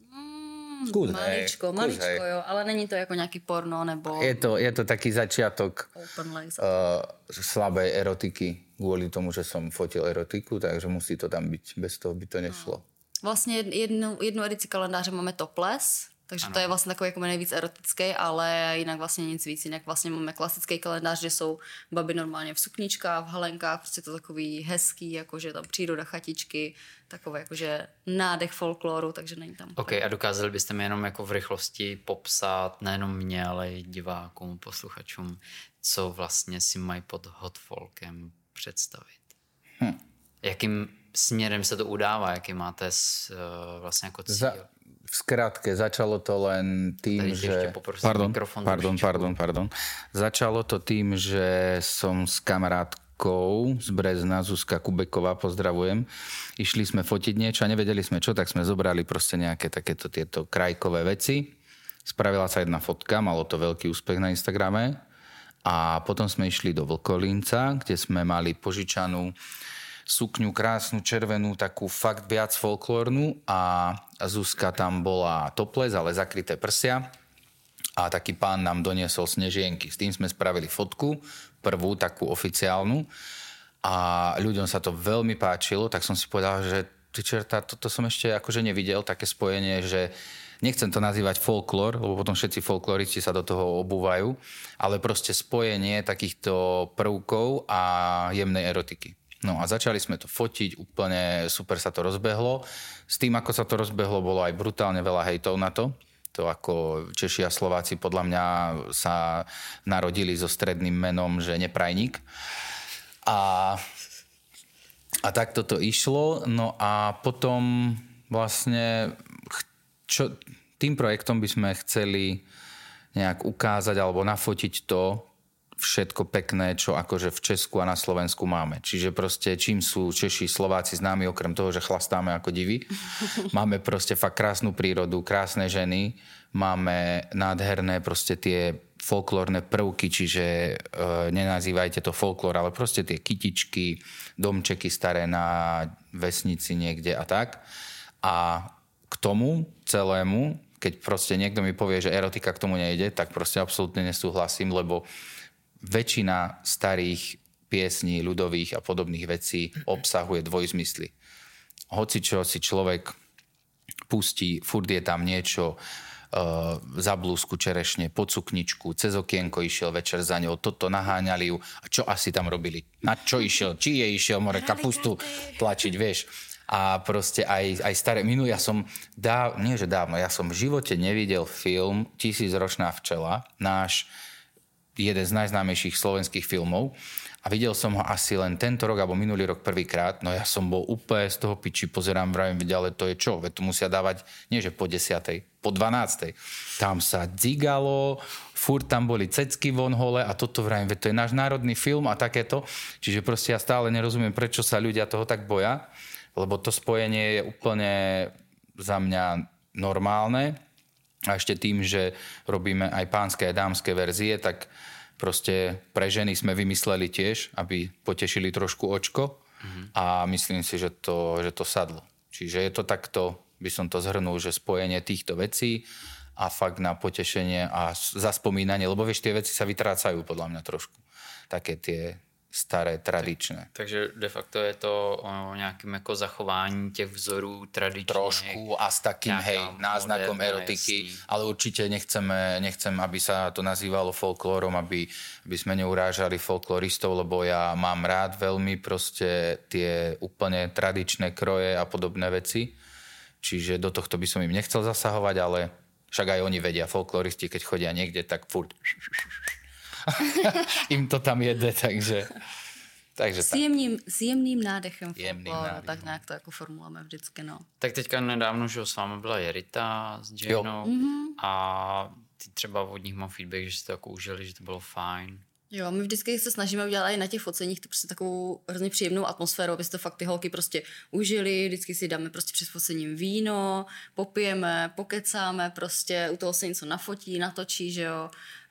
Maličko, jo, ale není to jako nějaký porno nebo... Je to taký začiatok slabej erotiky, kvôli tomu, že som fotil erotiku, takže musí to tam byť, bez toho by to nešlo. Vlastně jednu edici kalendáře máme topless, takže to je vlastně takový jako nejvíc erotický, ale jinak vlastně nic víc. Jinak vlastně máme klasický kalendář, kde jsou baby normálně v sukničkách, v halenkách, prostě to takový hezký, jakože tam příroda, chatičky, takové jakože nádech folkloru, takže není tam. Ok, a dokázali byste mi jenom jako v rychlosti popsat, nejenom mě, ale i divákům, posluchačům, co vlastně si mají pod hot folkem představit? Jakým směrem se to udává, jaký máte vlastně jako cíl? V skratke, začalo to len tým, že... Pardon. Začalo to tým, že som s kamarátkou z Brezna, Zuzka Kubeková, pozdravujem. Išli sme fotiť niečo a nevedeli sme čo, tak sme zobrali proste nejaké takéto tieto krajkové veci. Spravila sa jedna fotka, malo to veľký úspech na Instagrame. A potom sme išli do Vlkolínca, kde sme mali požičanú sukňu krásnu, červenú, takú fakt viac folklórnu a Zuzka tam bola topless, ale zakryté prsia a taký pán nám doniesol snežienky. S tým sme spravili fotku, prvú takú oficiálnu a ľuďom sa to veľmi páčilo, tak som si povedal, že ty čerta, toto som ešte akože nevidel, také spojenie, že nechcem to nazývať folklór, lebo potom všetci folkloristi sa do toho obúvajú, ale proste spojenie takýchto prvkov a jemnej erotiky. No a začali sme to fotiť, úplne super sa to rozbehlo. S tým, ako sa to rozbehlo, bolo aj brutálne veľa hejtov na to. To ako Češi a Slováci podľa mňa sa narodili so stredným menom, že neprajník. A takto to išlo. No a potom vlastne tým projektom by sme chceli nejak ukázať alebo nafotiť to, všetko pekné, čo akože v Česku a na Slovensku máme. Čiže proste čím sú Češi, Slováci známi, okrem toho, že chlastáme ako divi. Máme proste fakt krásnu prírodu, krásne ženy, máme nádherné proste tie folklórne prvky, čiže nenazývajte to folklór, ale proste tie kytičky, domčeky staré na vesnici niekde a tak. A k tomu celému, keď proste niekto mi povie, že erotika k tomu nejde, tak proste absolútne nesúhlasím, lebo väčšina starých piesní, ľudových a podobných vecí obsahuje dvojzmysly. Hoci čo si človek pustí, furt je tam niečo, za blúzku čerešne, pod sukničku, cez okienko išiel večer za ňou, toto naháňali ju. A čo asi tam robili? Na čo išiel? Či je išiel more kapustu tlačiť, vieš? A proste aj staré... ja som ja som v živote nevidel film 1000-ročná včela, náš jeden z najznámejších slovenských filmov a videl som ho asi len tento rok alebo minulý rok prvýkrát, no ja som bol úplne z toho piči, pozerám, vravím, ale to je čo? Veď to musia dávať, nie že po 10, po 12. Tam sa dzigalo, furt tam boli cecky von hole a toto vravím, veď to je náš národný film a takéto. Čiže proste ja stále nerozumiem, prečo sa ľudia toho tak boja, lebo to spojenie je úplne za mňa normálne. A ešte tým, že robíme aj pánske, aj dámske verzie, tak proste pre ženy sme vymysleli tiež, aby potešili trošku očko a myslím si, že to sadlo. Čiže je to takto, by som to zhrnul, že spojenie týchto vecí a fakt na potešenie a zaspomínanie, lebo vieš, tie veci sa vytrácajú podľa mňa trošku. Také tie staré, tradičné. Takže de facto je to o nějakém jako zachování těch vzorů tradičních. Trošku a s takým, náznakom erotiky, ale určite nechcem, aby sa to nazývalo folklórom, aby sme neurážali folkloristov, lebo ja mám rád veľmi proste tie úplne tradičné kroje a podobné veci. Čiže do tohto by som im nechcel zasahovať, ale však aj oni vedia, folkloristi, keď chodia niekde, tak furt im to tam jede, takže s jemným nádechem folklóru, tak nějak to jako formulujeme vždycky, no. Tak teďka nedávno, že s vámi byla Jerita s Janou a ty třeba od nich mám feedback, že si to jako užili, že to bylo fajn. Jo, my vždycky se snažíme udělat i na těch foceních to prostě takovou hrozně příjemnou atmosféru, aby si to fakt ty holky prostě užili, vždycky si dáme prostě před focením víno, popijeme, pokecáme, prostě u toho se něco nafotí, natočí, že jo,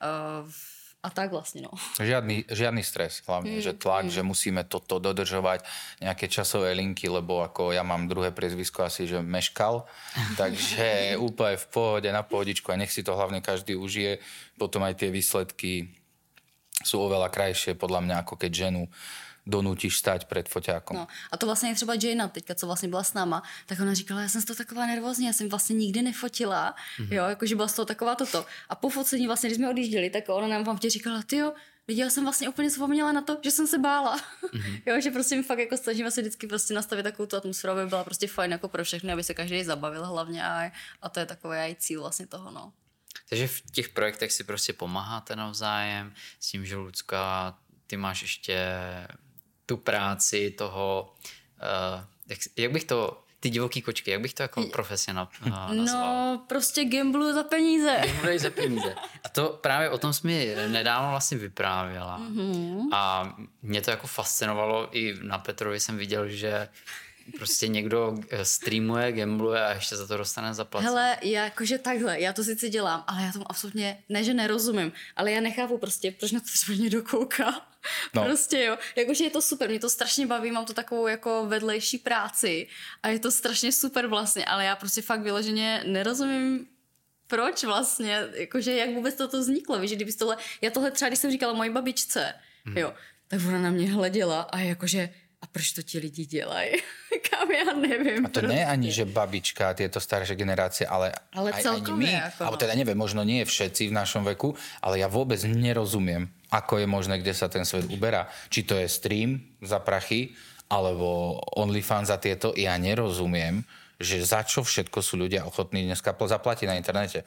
a tak vlastně, no. Žiadny stres, hlavne, že tlak, že musíme toto dodržovať, nejaké časové linky, lebo ako ja mám druhé priezvisko asi, že meškal, takže úplne v pohode, na pohodičku a nech si to hlavne každý užije. Potom aj tie výsledky sú oveľa krajšie, podľa mňa, ako keď ženu donútíš stať před foťákom. No, a to vlastně třeba Jana teďka, co vlastně byla s náma, tak ona říkala, já jsem z toho taková nervózní, já jsem vlastně nikdy nefotila, jo, jakože byla z toho taková toto. A po focení vlastně, když jsme odjížděli, tak ona nám vám říkala, tyjo, viděla jsem vlastně úplně zapomněla na to, že jsem se bála. Jo, že prostě my fakt jako snažíme se vždycky prostě nastavit takovou tu atmosféru, aby byla prostě fajn jako pro všechny, aby se každý zabavil hlavně a to je takový i cíl vlastně toho, no. Takže v těch projektech si prostě pomáháte navzájem s tím, že Lucka, ty máš ještě tu práci toho, jak bych to, ty divoký kočky, jak bych to jako profesně nazval? No, prostě gambluju za peníze. Gambluju za peníze. A to právě o tom jsi mi nedávno vlastně vyprávěla. A mě to jako fascinovalo, i na Petrovi jsem viděl, že prostě někdo streamuje, gambluje a ještě za to dostane zaplaceno. Hele, jakože takhle, já to sice dělám, ale já tomu absolutně, ne že nerozumím, ale já nechápu prostě, proč na to třeba někdo kouká. No. Prostě jo, jakože je to super, mě to strašně baví, mám to takovou jako vedlejší práci a je to strašně super vlastně, ale já prostě fakt vyloženě nerozumím, proč vlastně, jakože jak vůbec toto vzniklo, víš, že kdyby tohle, já tohle třeba, když jsem říkala mojí babičce, jo, tak ona na mě hleděla a jakože a proč to ti lidi dělají? Kam já nevím. A to nie je ani, že babička, tieto staršie generácie, ale aj my, ako alebo teda neviem, možno nie všetci v našom veku, ale ja vôbec nerozumiem, ako je možné, kde sa ten svet uberá. Či to je stream za prachy, alebo OnlyFans za tieto. Ja nerozumiem, že za čo všetko sú ľudia ochotní dneska zaplatiť na internete.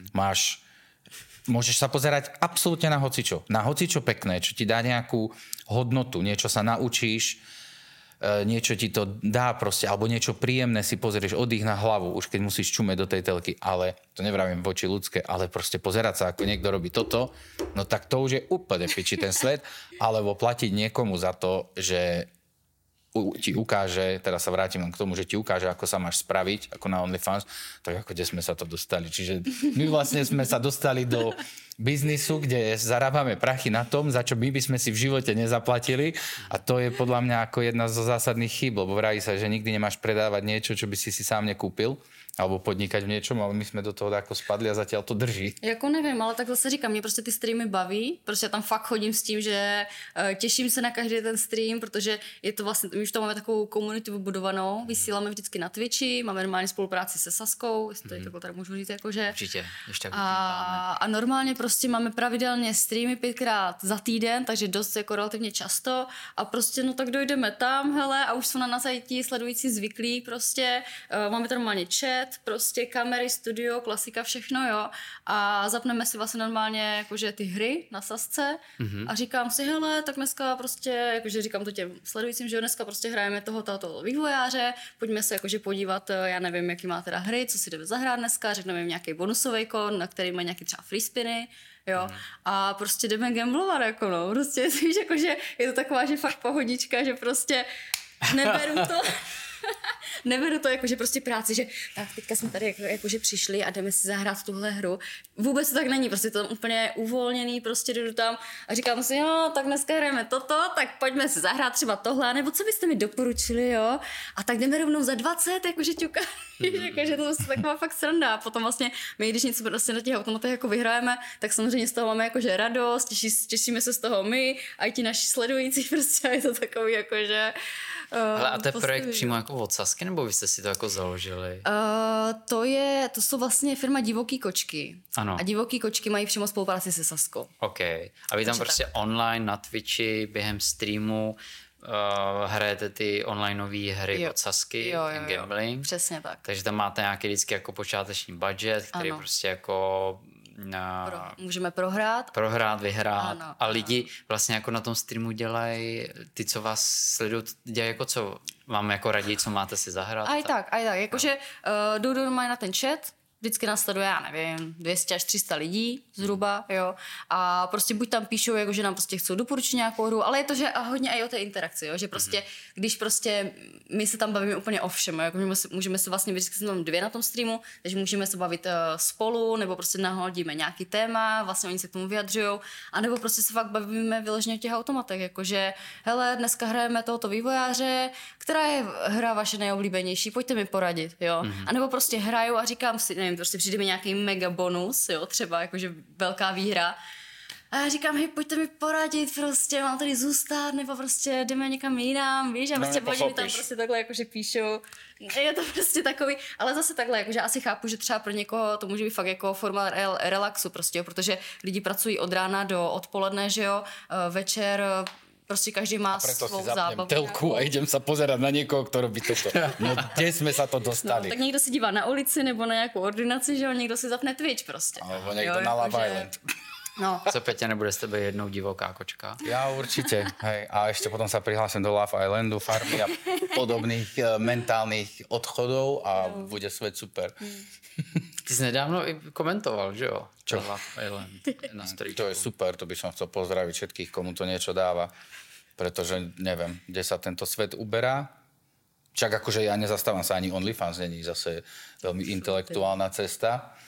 Môžeš sa pozerať absolútne na hocičo. Na hocičo pekné, čo ti dá nejakú hodnotu, niečo sa naučíš, niečo ti to dá proste, alebo niečo príjemné si pozrieš, oddych na hlavu, už keď musíš čumeť do tej telky, ale to nevravím voči ľudské, ale proste pozerať sa, ako niekto robí toto, no tak to už je úplne piči ten svet, alebo platiť niekomu za to, že ti ukáže, teraz sa vrátim len k tomu, že ti ukáže, ako sa máš spraviť, ako na OnlyFans, tak ako kde sme sa to dostali. Čiže my vlastne sme sa dostali do biznisu, kde zarábame prachy na tom, za čo my by sme si v živote nezaplatili a to je podľa mňa ako jedna zo zásadných chýb, lebo vraví sa, že nikdy nemáš predávať niečo, čo by si sám nekúpil alebo podnikať v niečom, ale my jsme do toho jako spadli a zatiaľ to drží. Jako nevím, ale tak zase říkám, mě prostě ty streamy baví, prostě tam fakt chodím s tím, že těším se na každý ten stream, protože je to vlastně, my už tam máme takovou komunitu vybudovanou, vysíláme vždycky na Twitchi, máme normálně spolupráci se Saskou, jestli to tady můžu říct, jakože. Určitě, ještě a normálně prostě máme pravidelně streamy 5krát za týden, takže dost jako relativně často a prostě no tak dojdeme tam, hele, a už jsou na nás i ti sledující zvyklí prostě, máme tam normálně chat, prostě kamery, studio, klasika, všechno, jo. A zapneme si vlastně normálně jakože ty hry na sasce a říkám si, hele, tak dneska prostě, jakože říkám to těm sledujícím, že dneska prostě hrajeme toho vývojáře, pojďme se jakože podívat, já nevím, jaký má teda hry, co si jdeme zahrát dneska, řekneme jim nějaký bonusový kód, na který má nějaký třeba free spiny, jo, a prostě jdeme gamblovat, jako no, prostě, víš, jakože je to taková, že fakt pohodička, že prostě neberu to jakože prostě práci, že tak teďka jsme tady jakože přišli a jdeme si zahrát tuhle hru. Vůbec to tak není, prostě to úplně uvolněný, prostě jdu tam a říkám si, jo, tak dneska hrajeme toto, tak pojďme si zahrát třeba tohle, nebo co byste mi doporučili, jo? A tak jdeme rovnou za 20, jakože ťuka, jakože to je taková fakt sranda. A potom vlastně my, když něco prostě na těch automatech jako vyhrajeme, tak samozřejmě z toho máme jakože radost, těšíme se z toho my a i ti naši sledující, prostě je to takový jakože... Hele, a to je projekt přímo jako od Sasky, nebo vy jste si to jako založili? To jsou vlastně firma Divoký kočky. Ano. A Divoký kočky mají přímo spolupráci se Saskou. OK. A vy tam prostě tak online na Twitchi během streamu hrajete ty onlineové hry od Sasky, ten gambling. Přesně tak. Takže tam máte nějaký vždycky jako počáteční budget, který prostě jako... můžeme prohrát, vyhrát. Ano, a lidi vlastně jako na tom streamu dělají, ty, co vás sledují, dělají jako co? Vám jako radí, co máte si zahrát? Aj tak. Jakože jdu normálně na ten chat, vždycky nás sleduje, já nevím, 200 až 300 lidí zhruba, jo. A prostě buď tam píšou, jako, že nám prostě chcou doporučit nějakou hru, ale je to, že hodně i o té interakci, jo, že prostě, když prostě my se tam bavíme úplně o všem, jako můžeme se vlastně, vždycky jsme tam 2 na tom streamu, takže můžeme se bavit spolu, nebo prostě nahodíme nějaký téma, vlastně oni se k tomu vyjadřujou, anebo prostě se fakt bavíme vyloženě o těch automatech, jakože, hele, dneska hrajeme tohoto vývojáře, která je hra vaše nejoblíbenější, pojďte mi poradit, jo. A nebo prostě hraju a říkám si, nevím, prostě přijde mi nějaký mega bonus, jo, třeba jakože velká výhra. A já říkám, hej, pojďte mi poradit, prostě mám tady zůstat, nebo prostě jdeme někam jinam, víš, a prostě oni mi tam prostě takhle jakože píšou. Je to prostě takový, ale zase takhle, jakože asi chápu, že třeba pro někoho to může být fakt jako forma relaxu prostě, jo, protože lidi pracují od rána do odpoledne, že jo, večer. Prostě každý má svou zábavu. Telku a idem sa pozerať na niekoho, kto robí toto. No kde sme sa to dostali? No, tak někdo si dívá na ulici nebo na nějakou ordinaci, že jo, někdo si zapne Twitch prostě. Alebo někdo na Love Island. No. Co, Peťa, nebude s tebe jednou divoká kočka? Ja určite, hej. A ešte potom sa prihlásim do Love Islandu, farmy a podobných mentálnych odchodov a bude svet super. Ty jsi nedávno i komentoval, že jo? Čo? Love Island na streamu. To je super, to by som chcel pozdraviť všetkých, komu to niečo dáva. Pretože neviem, kde sa tento svet uberá. Však akože ja nezastávam sa ani OnlyFans, není zase veľmi intelektuálna cesta.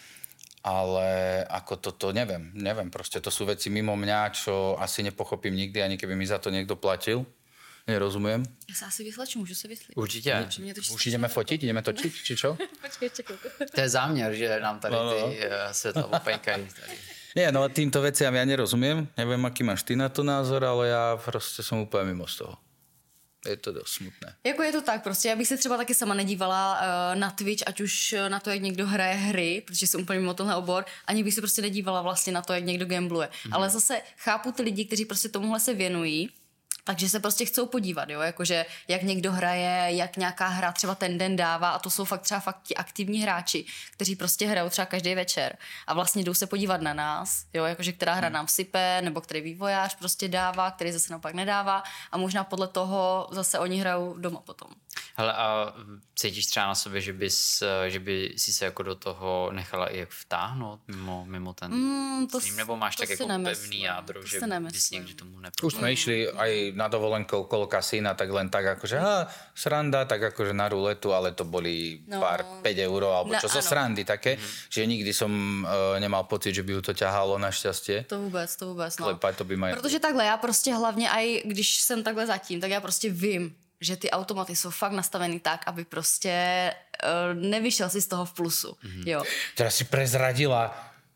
Ale ako toto neviem, proste to sú veci mimo mňa, čo asi nepochopím nikdy, ani keby mi za to niekto platil. Nerozumiem. Já se asi vysleču, můžu se vyslit. Určitě. Už ideme fotiť, ideme točiť, či čo? Počkej, ještě chvilku. To je záměr, že nám tady ty světla opejkají. Nie, no týmto veciam ja nerozumiem. Neviem, aký máš ty na to názor, ale ja proste som úplne mimo z toho. Je to dost smutné. Jako je to tak, prostě já bych se třeba taky sama nedívala na Twitch, ať už na to, jak někdo hraje hry, protože jsem úplně mimo tenhle obor, ani bych se prostě nedívala vlastně na to, jak někdo gambluje. Ale zase chápu ty lidi, kteří prostě tomuhle se věnují, takže se prostě chcou podívat, jo, jakože jak někdo hraje, jak nějaká hra třeba ten den dává a to jsou fakt ti aktivní hráči, kteří prostě hrajou třeba každý večer a vlastně jdou se podívat na nás, jo, jakože která hra nám sype, nebo který vývojář prostě dává, který zase naopak nedává a možná podle toho zase oni hrajou doma potom. Hele, a cítíš třeba na sobě, že by si se jako do toho nechala i jak vtáhnout mimo ten stream, nebo máš tak jako pevný jádro, že bys někdy tomu nepůjde? Už sme išli aj na dovolenku okolo kasína, tak len tak akože sranda, tak akože na ruletu, ale to boli pár 5 €, alebo čo zo srandy také, že nikdy som nemal pocit, že by ju to ťahalo našťastie. To vůbec, no. Klepať to by ma... Protože takhle, já prostě hlavně aj když jsem takhle zatím, tak já prostě vím, že ty automaty jsou fakt nastavený tak, aby prostě nevyšel si z toho v plusu. Jo. Teraz si prezradila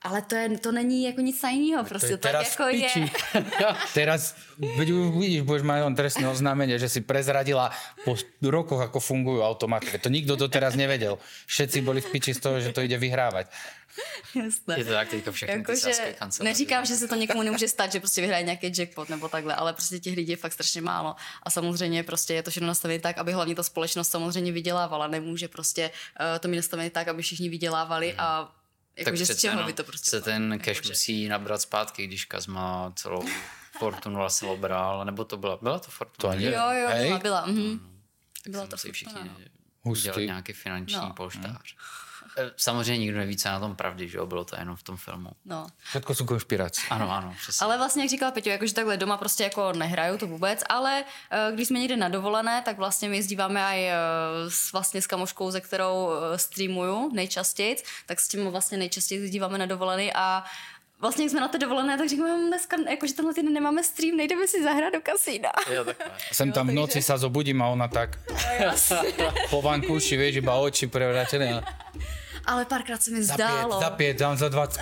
Ale to není jako nic tajného, prostě tak jako je. Teraz vidíš, budeš mať len trestné oznámenie, že si prezradila po rokoch, ako fungujú automaty. To nikto doteraz nevedel. Všetci boli v piči z toho, že to ide vyhrávať. Jasné. Je to tak teďka všechny jako, ty sázky kanceláře. Neříkám, že se to někomu nemůže stát, že prostě vyhraje nějaký jackpot nebo takhle, ale prostě těch lidí je fakt strašně málo. A samozřejmě prostě je to všechno nastavené tak, aby hlavně ta společnost samozřejmě vydělávala. Nemůže prostě to mít nastavené tak, aby všichni vydělávali a jakože z čeho by to prostě se ten cash musí nabrat zpátky, když Kazma celou Fortunu vlastně obral, nebo to byla to Fortuna? Jo, byla. Byla to všichni udělali nějaký finanční polštář. Samozřejmě nikdo neví, co je na tom pravdy, že jo? Bylo to jenom v tom filmu. No. Všetko jsou konšpirace. Ano, přesně. Ale vlastně, jak říkala Peťo, jakože takhle doma prostě jako nehraju to vůbec, ale když jsme někde na dovolené, tak vlastně my jezdíváme aj vlastně s kamoškou, ze kterou streamuju nejčastěji, tak s tím vlastně nejčastěji jezdíváme na dovolený a vlastně, jak jsme na té dovolené, tak říkáme, dneska, jakože tenhle týden nemáme stream, nejdeme si zahrát do kasína. Sem tam v noci sa zobudím a ona tak po vankúši, vieš, iba oči prevrátené. Ale párkrát se mi zdálo. Za 5, dám za 20.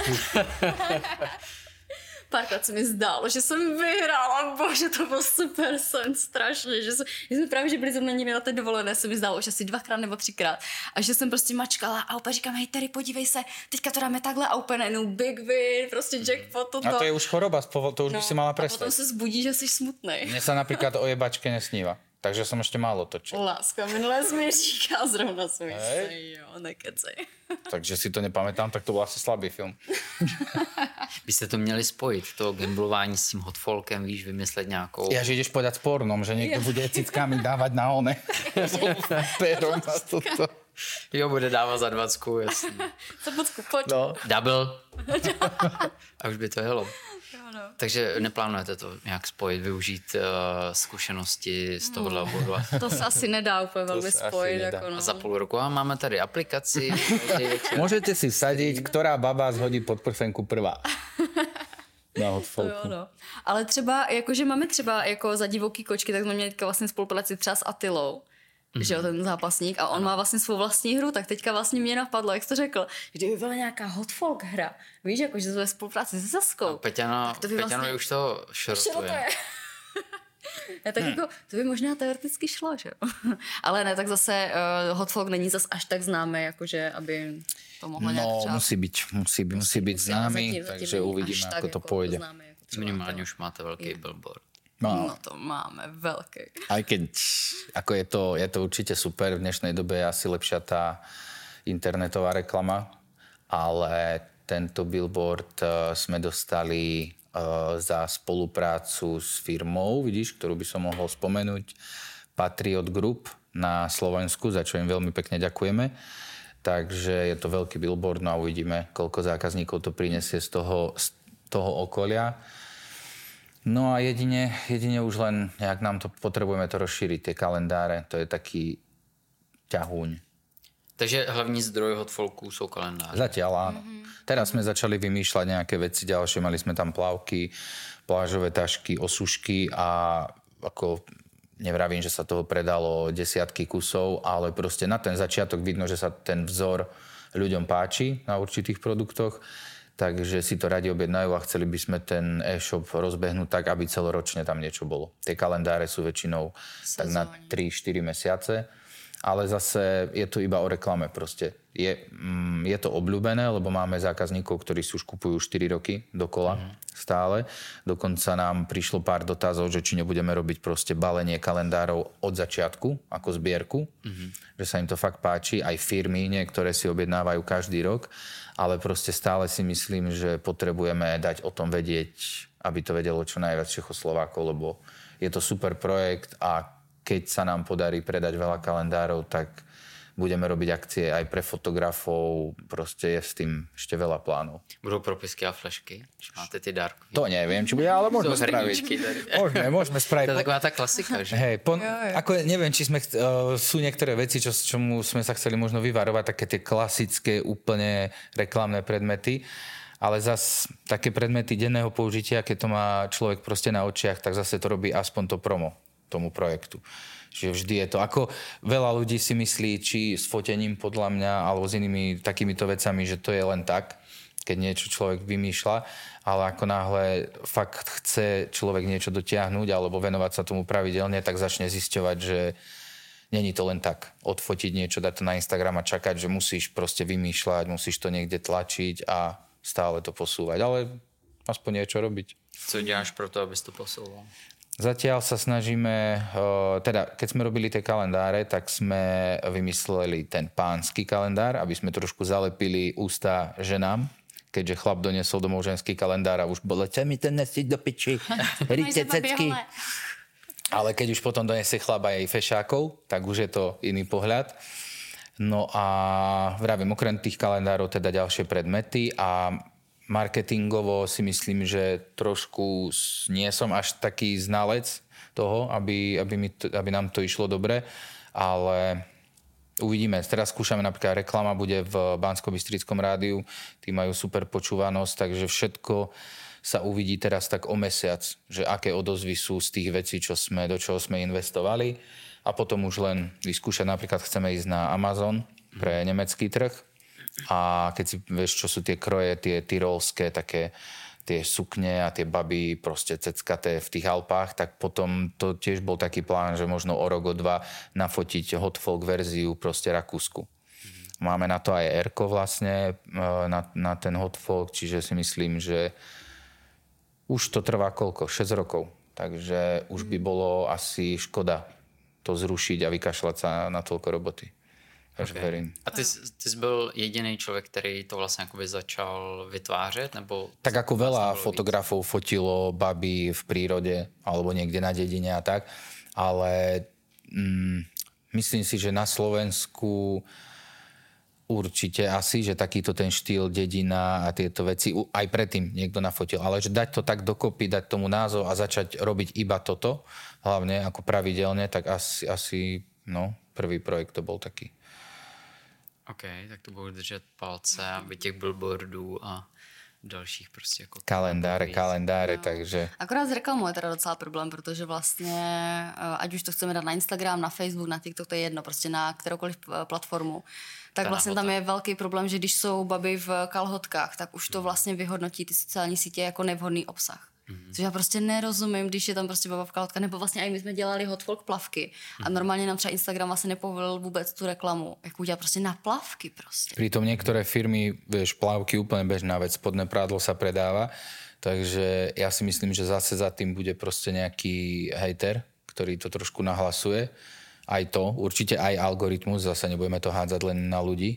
Párkrát se mi zdálo, že jsem vyhrála, bože, to byl super sen, strašně, že jsme právě, že byli zrovna někde na té dovolené, se mi zdálo, že asi 2krát nebo 3krát a že jsem prostě mačkala a úplně říkám, hej Terry, podívej se, teďka to dáme takhle a úplně najednou big win, prostě jackpot, toto. A to je už choroba, to už by si mala prestať. A potom se zbudí, že jsi smutnej. Mne sa napríklad o jebačke nesníva. Takže som ešte málo točil. Láska, minulé jsi mi říkal, zrovna jsem jo, nekecej. Takže si to nepamätám, tak to byl asi slabý film. Byste to měli spojit, to gamblování s tím hotfolkem, víš, vymyslet nějakou... Ja, že ideš povedať s pornom, že niekto bude cickami dávať na one. Pérom a toto. Jo, bude dávat za 20, jasný. Co Pocku, pojď. No, double. A už by to jelo. No. Takže neplánujete to nějak spojit, využít zkušenosti z tohohle oboru? To se asi nedá úplně velmi spojit. Jako, no. A za půl roku a máme tady aplikaci. Môžete si vsadiť, ktorá baba zhodí pod prsenku prvá. Na hotfolku. No. Ale třeba, jakože máme třeba jako za divoký kočky, tak jsme měli teďka vlastně spolupráci třeba s Attilou. Že jo, ten zápasník a on má vlastně svou vlastní hru, tak teďka vlastně mě napadlo, jak jsi to řekl, že kdyby byla nějaká hotfolk hra, víš, jako, že to je spolupráce se Saskou. Peťano vlastně... už to šrotuje. Tak jako, to by možná teoreticky šlo, že jo. Ale ne, tak zase hotfolk není zas až tak známý, jakože aby to mohlo nějak třeba... musí být známý, takže uvidíme, ako to pôjde. Minimálně už máte velký billboard. No to máme veľké. Aj keď ako je to určite super, v dnešnej dobe je asi lepšia tá internetová reklama, ale tento billboard sme dostali za spoluprácu s firmou, vidíš, ktorú by som mohol spomenúť, Patriot Group na Slovensku, za čo im veľmi pekne ďakujeme. Takže je to veľký billboard, no a uvidíme, koľko zákazníkov to prinesie z toho okolia. No a jedine už len, jak nám to potrebujeme to rozšíriť, tie kalendáre, to je taký ťahúň. Takže hlavní zdroj hotfolku sú kalendáře. Zatiaľ áno. Teraz sme začali vymýšľať nejaké veci ďalšie, mali sme tam plavky, plážové tašky, osušky a ako nevravím, že sa toho predalo desiatky kusov, ale proste na ten začiatok vidno, že sa ten vzor ľuďom páči na určitých produktoch. Takže si to radi objednajú a chceli by sme ten e-shop rozbehnúť tak, aby celoročne tam niečo bolo. Tie kalendáre sú väčšinou tak na 3-4 mesiace, ale zase je to iba o reklame proste. Je to obľúbené, lebo máme zákazníkov, ktorí si už kupujú 4 roky dokola stále. Dokonca nám prišlo pár dotazov, že či nebudeme robiť proste balenie kalendárov od začiatku, ako zbierku, že sa im to fakt páči. Aj firmy niektoré si objednávajú každý rok, ale proste stále si myslím, že potrebujeme dať o tom vedieť, aby to vedelo čo najviac Čechoslovákov, lebo je to super projekt a keď sa nám podarí predať veľa kalendárov, tak budeme robiť akcie aj pre fotografov, proste je s tým ešte veľa plánov. Budú propisky a flešky, či máte ty dárky? To neviem, či bude, ale môžeme spraviť. Môžeme spraviť. To je taková tá klasika, že? Hej, ako neviem, či sú niektoré veci, čomu sme sa chceli možno vyvarovať, také tie klasické úplne reklamné predmety, ale zas také predmety denného použitia, keď to má človek proste na očiach, tak zase to robí aspoň to promo tomu projektu. Že vždy je to, ako veľa ľudí si myslí, či s fotením podľa mňa, alebo s inými takýmito vecami, že to je len tak. keď niečo človek vymýšľa, ale ako náhle fakt chce človek niečo dotiahnuť alebo venovať sa tomu pravidelne, tak začne zisťovať, že není to len tak odfotiť niečo, dať to na Instagram a čakať, že musíš proste vymýšľať, musíš to niekde tlačiť a stále to posúvať, ale aspoň niečo robiť. Co děláš pro to, abys to posouval? Zatiaľ sa snažíme, teda keď sme robili tie kalendáre, tak sme vymysleli ten pánsky kalendár, aby sme trošku zalepili ústa ženám, keďže chlap doniesol domov ženský kalendár a už bolo, čo mi ten nesiť do piči, ríte cecky. Ale keď už potom donesie chlap aj fešákov, tak už je to iný pohľad. No a vravím, okrem tých kalendárov teda ďalšie predmety a marketingovo si myslím, že trošku nie som až taký znalec toho, aby nám to išlo dobre, ale uvidíme. Teraz skúšame napríklad, reklama bude v Banskobystrickom rádiu, tí majú super počúvanosť, takže všetko sa uvidí teraz tak o mesiac, že aké odozvy sú z tých vecí, do čoho sme investovali a potom už len vyskúšať. Napríklad chceme ísť na Amazon pre nemecký trh a keď si vieš, čo sú tie kroje, tie tyrolské, také tie sukne a tie baby proste ceckaté v tých Alpách, tak potom to tiež bol taký plán, že možno o rok, o dva nafotiť hot folk verziu proste Rakúsku. Máme na to aj Erko vlastne, na ten hot folk, čiže si myslím, že už to trvá koľko? 6 rokov. Takže už by bolo asi škoda to zrušiť a vykašľať sa na toľko roboty. Takže verím. A ty jsi byl jediný člověk, který to vlastně jakoby začal vytvářet? Nebo tak ako veľa fotografov fotilo baby v prírode alebo niekde na dedine a tak, ale myslím si, že na Slovensku určite asi, že takýto ten štýl dedina a tieto veci aj predtým niekto nafotil, ale že dať to tak dokopy, dať tomu názov a začať robiť iba toto, hlavne ako pravidelne, tak asi prvý projekt to bol taký. OK, tak to budu držet palce, aby těch billboardů a dalších prostě jako... Kalendáre, takže... Akorát s reklamou je teda docela problém, protože vlastně, ať už to chceme dát na Instagram, na Facebook, na TikTok, to je jedno, prostě na kteroukoliv platformu, tak vlastně tam je velký problém, že když jsou baby v kalhotkách, tak už to vlastně vyhodnotí ty sociální sítě jako nevhodný obsah. Což já prostě nerozumím, když je tam prostě baba v kalhotkách, nebo vlastně i my jsme dělali hot folk plavky a normálně nám třeba Instagram vlastně nepovolil vůbec tu reklamu, jak udělat prostě na plavky prostě. Pritom niektoré firmy, vieš, plavky úplne bežná vec, spodné prádlo sa predáva, takže ja si myslím, že zase za tým bude proste nejaký hejter, ktorý to trošku nahlasuje. Aj to, určite aj algoritmus, zase nebudeme to hádzať len na ľudí,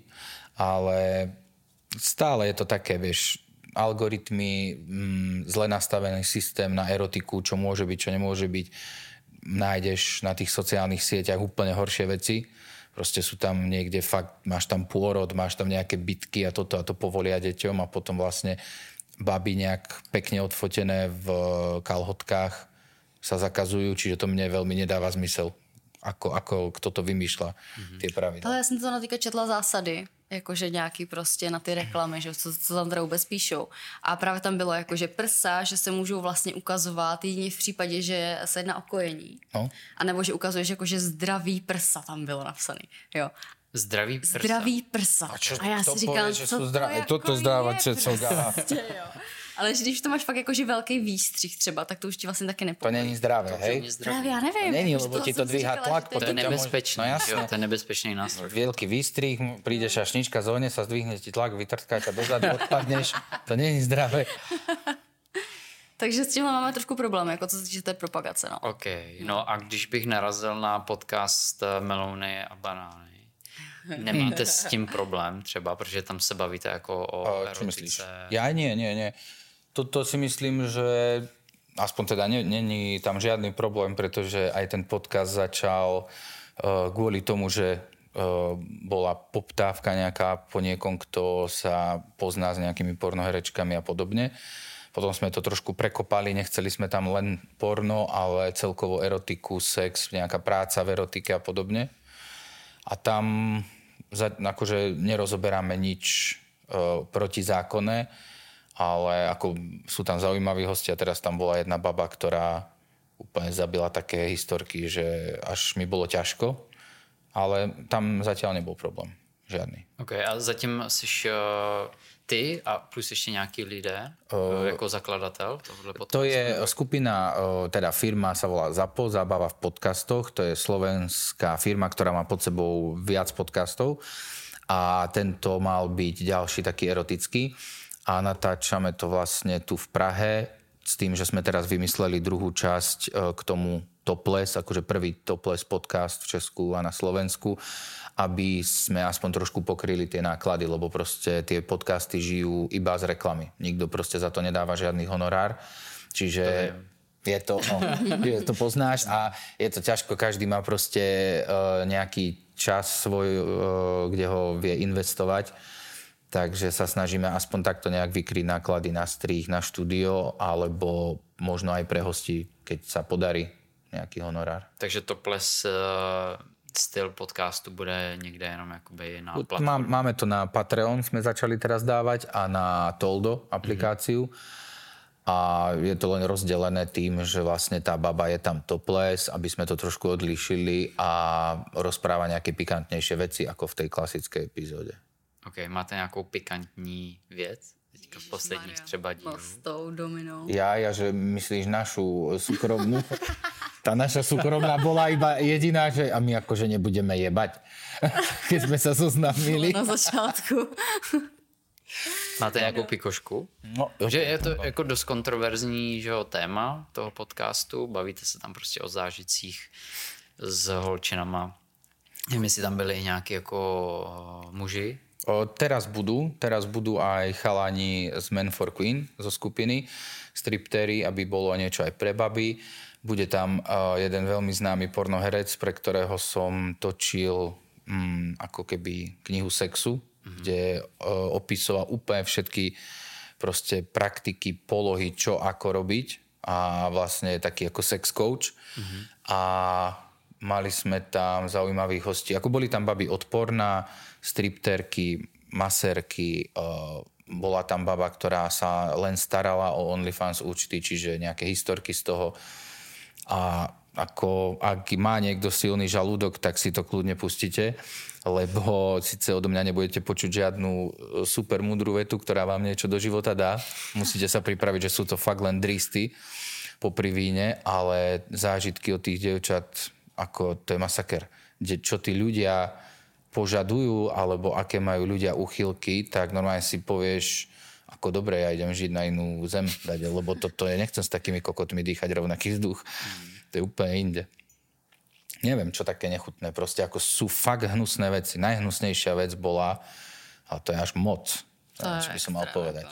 ale stále je to také, vieš, algoritmy, zle nastavený systém na erotiku, čo môže byť, čo nemôže byť. Nájdeš na tých sociálnych sieťach úplne horšie veci. Proste sú tam niekde fakt, máš tam pôrod, máš tam nejaké bitky a toto a to povolia deťom a potom vlastne baby nejak pekne odfotené v kalhotkách sa zakazujú, čiže to mne veľmi nedáva zmysel. Ako kto to vymýšľa, tie pravidla. Ale já jsem to natýka četla zásady, jakože nějaký prostě na ty reklamy, že co tam teda vůbec píšou. A právě tam bylo jakože prsa, že se můžou vlastně ukazovat jedině v případě, že se jedná o kojení. No. A nebo že ukazuješ jakože zdravý prsa tam bylo napsaný, jo. Zdravý prsa. Zdravý prsa. A já si říkám, co to jako toto zdrávače, co dá. Ale když to máš fakt jakože velký výstřih třeba, tak to už ti vlastně taky nepovolí. To není zdravé, hej? Právě, já nevím. Není, lebo ti to dvíhá tlak. To je nebezpečný, no, to je nebezpečný nástroj. Veľký výstrih, príde šašnička, zohne sa, zdvihne ti tlak, vytrtká ťa dozadu, odpadneš. To není zdravé. Takže s tímhle máme trošku problém, jako co se týče té propagace. No. OK, no a když bych narazil na podcast Melouny a banány, nemáte s tím problém třeba, protože tam se bavíte jako o erotice? Ja nie. Toto si myslím, že aspoň teda není tam žiadny problém, pretože aj ten podcast začal kvôli tomu, že bola poptávka nejaká po niekom, kto sa pozná s nejakými pornoherečkami a podobne. Potom sme to trošku prekopali, nechceli sme tam len porno, ale celkovo erotiku, sex, nejaká práca v erotike a podobne. A tam akože nerozoberáme nič protizákonné, ale ako sú tam zaujímaví hostia. Teraz tam bola jedna baba, ktorá úplne zabila také historky, že až mi bolo ťažko, ale tam zatiaľ nebol problém. Žádný. OK, a zatím jsi ty a plus ještě nějaký lidé jako zakladatel tohohle podcastu? To je skupina, teda firma sa volá ZAPO, Zábava v podcastoch. To je slovenská firma, ktorá má pod sebou viac podcastov. A tento mal byť ďalší taký erotický. A natáčame to vlastne tu v Prahe s tým, že sme teraz vymysleli druhú časť k tomu Topless, akože prvý Topless podcast v Česku a na Slovensku, aby sme aspoň trošku pokryli tie náklady, lebo proste tie podcasty žijú iba z reklamy. Nikto proste za to nedáva žiadny honorár. Čiže je to poznáš a je to ťažko. Každý má proste nejaký čas svoj, kde ho vie investovať. Takže sa snažíme aspoň takto nejak vykryť náklady na strih, na štúdio, alebo možno aj pre hostí, keď sa podarí nejaký honorár. Takže Topless styl podcastu bude niekde jenom jakoby na platformu? Máme to na Patreon, sme začali teraz dávať, a na Toldo aplikáciu. A je to len rozdelené tým, že vlastne tá baba je tam topless, aby sme to trošku odlíšili a rozpráva nejaké pikantnejšie veci ako v tej klasickej epizóde. OK, máte nějakou pikantní věc? Teďka v posledních třeba dílů. S tou Dominou. Ja, že myslíš našu súkromnú? Tá naša súkromná bola iba jediná, že a my akože nebudeme jebať, keď sme sa zoznámili. Na začátku. Máte nějakou pikošku? No, že je to jako dost kontroverzní, že jo, téma toho podcastu. Bavíte se tam prostě o zážitcích s holčinama. Nevím, jestli tam byli nějaký jako muži. Teraz budú aj chalani z Men for Queen zo skupiny, striptéri, aby bolo niečo aj pre baby. Bude tam jeden veľmi známy pornoherec, pre ktorého som točil ako keby knihu sexu, kde opisoval úplne všetky proste praktiky, polohy, čo ako robiť, a vlastne je taký ako sex coach. A mali sme tam zaujímavých hostí. Ako boli tam baby odporná, stripterky, masérky, bola tam baba, ktorá sa len starala o OnlyFans účty, čiže nejaké historky z toho. A ako, ak má niekto silný žalúdok, tak si to kľudne pustíte, lebo síce odo mňa nebudete počuť žiadnu super múdru vetu, ktorá vám niečo do života dá. Musíte sa pripraviť, že sú to fakt len dristy popri víne, ale zážitky od tých dievčat, ako to je masaker. Čo tí ľudia požadujú, alebo aké majú ľudia úchylky, tak normálne si povieš, ako dobre, ja idem žiť na inú zem, lebo toto je, nechcem s takými kokotmi dýchať rovnaký vzduch. To je úplne inde. Neviem, čo také nechutné, proste ako sú fakt hnusné veci. Najhnusnejšia vec bola, ale to je až moc, čo by som mal povedať.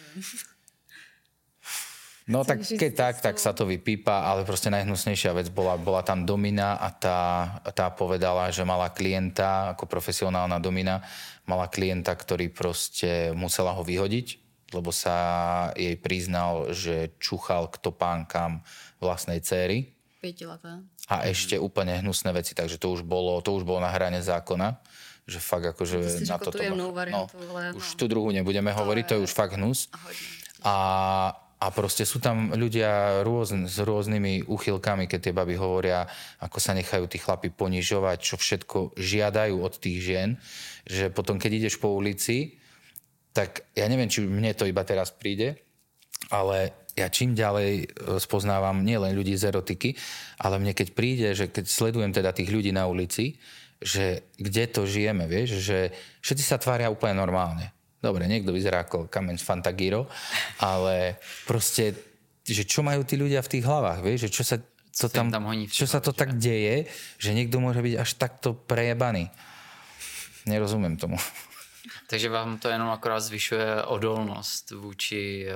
No tak keď tak sa to vypípa, ale proste najhnusnejšia vec bola tam Domina a tá povedala, že mala klienta, ako profesionálna Domina, mala klienta, ktorý proste musela ho vyhodiť, lebo sa jej priznal, že čuchal k topánkam vlastnej dcéry. 5leté. A ešte úplne hnusné veci, takže to už bolo na hrane zákona, že fakt akože na toto... Už tú druhú nebudeme hovoriť, to je už fakt hnus. A proste sú tam ľudia s rôznymi úchylkami, keď tie baby hovoria, ako sa nechajú tí chlapi ponižovať, čo všetko žiadajú od tých žien, že potom, keď ideš po ulici, tak ja neviem, či mne to iba teraz príde, ale ja čím ďalej spoznávam nielen ľudí z erotiky, ale mne keď príde, že keď sledujem teda tých ľudí na ulici, že kde to žijeme, vieš, že všetci sa tvária úplne normálne. Dobre, niekto vyzerá ako kameň z Fantagiro, ale proste, že čo majú tí ľudia v tých hlavách, vieš, že čo sa to tak deje, že niekto môže byť až takto prejebaný. Nerozumiem tomu. Takže vám to jenom akorát zvyšuje odolnost vůči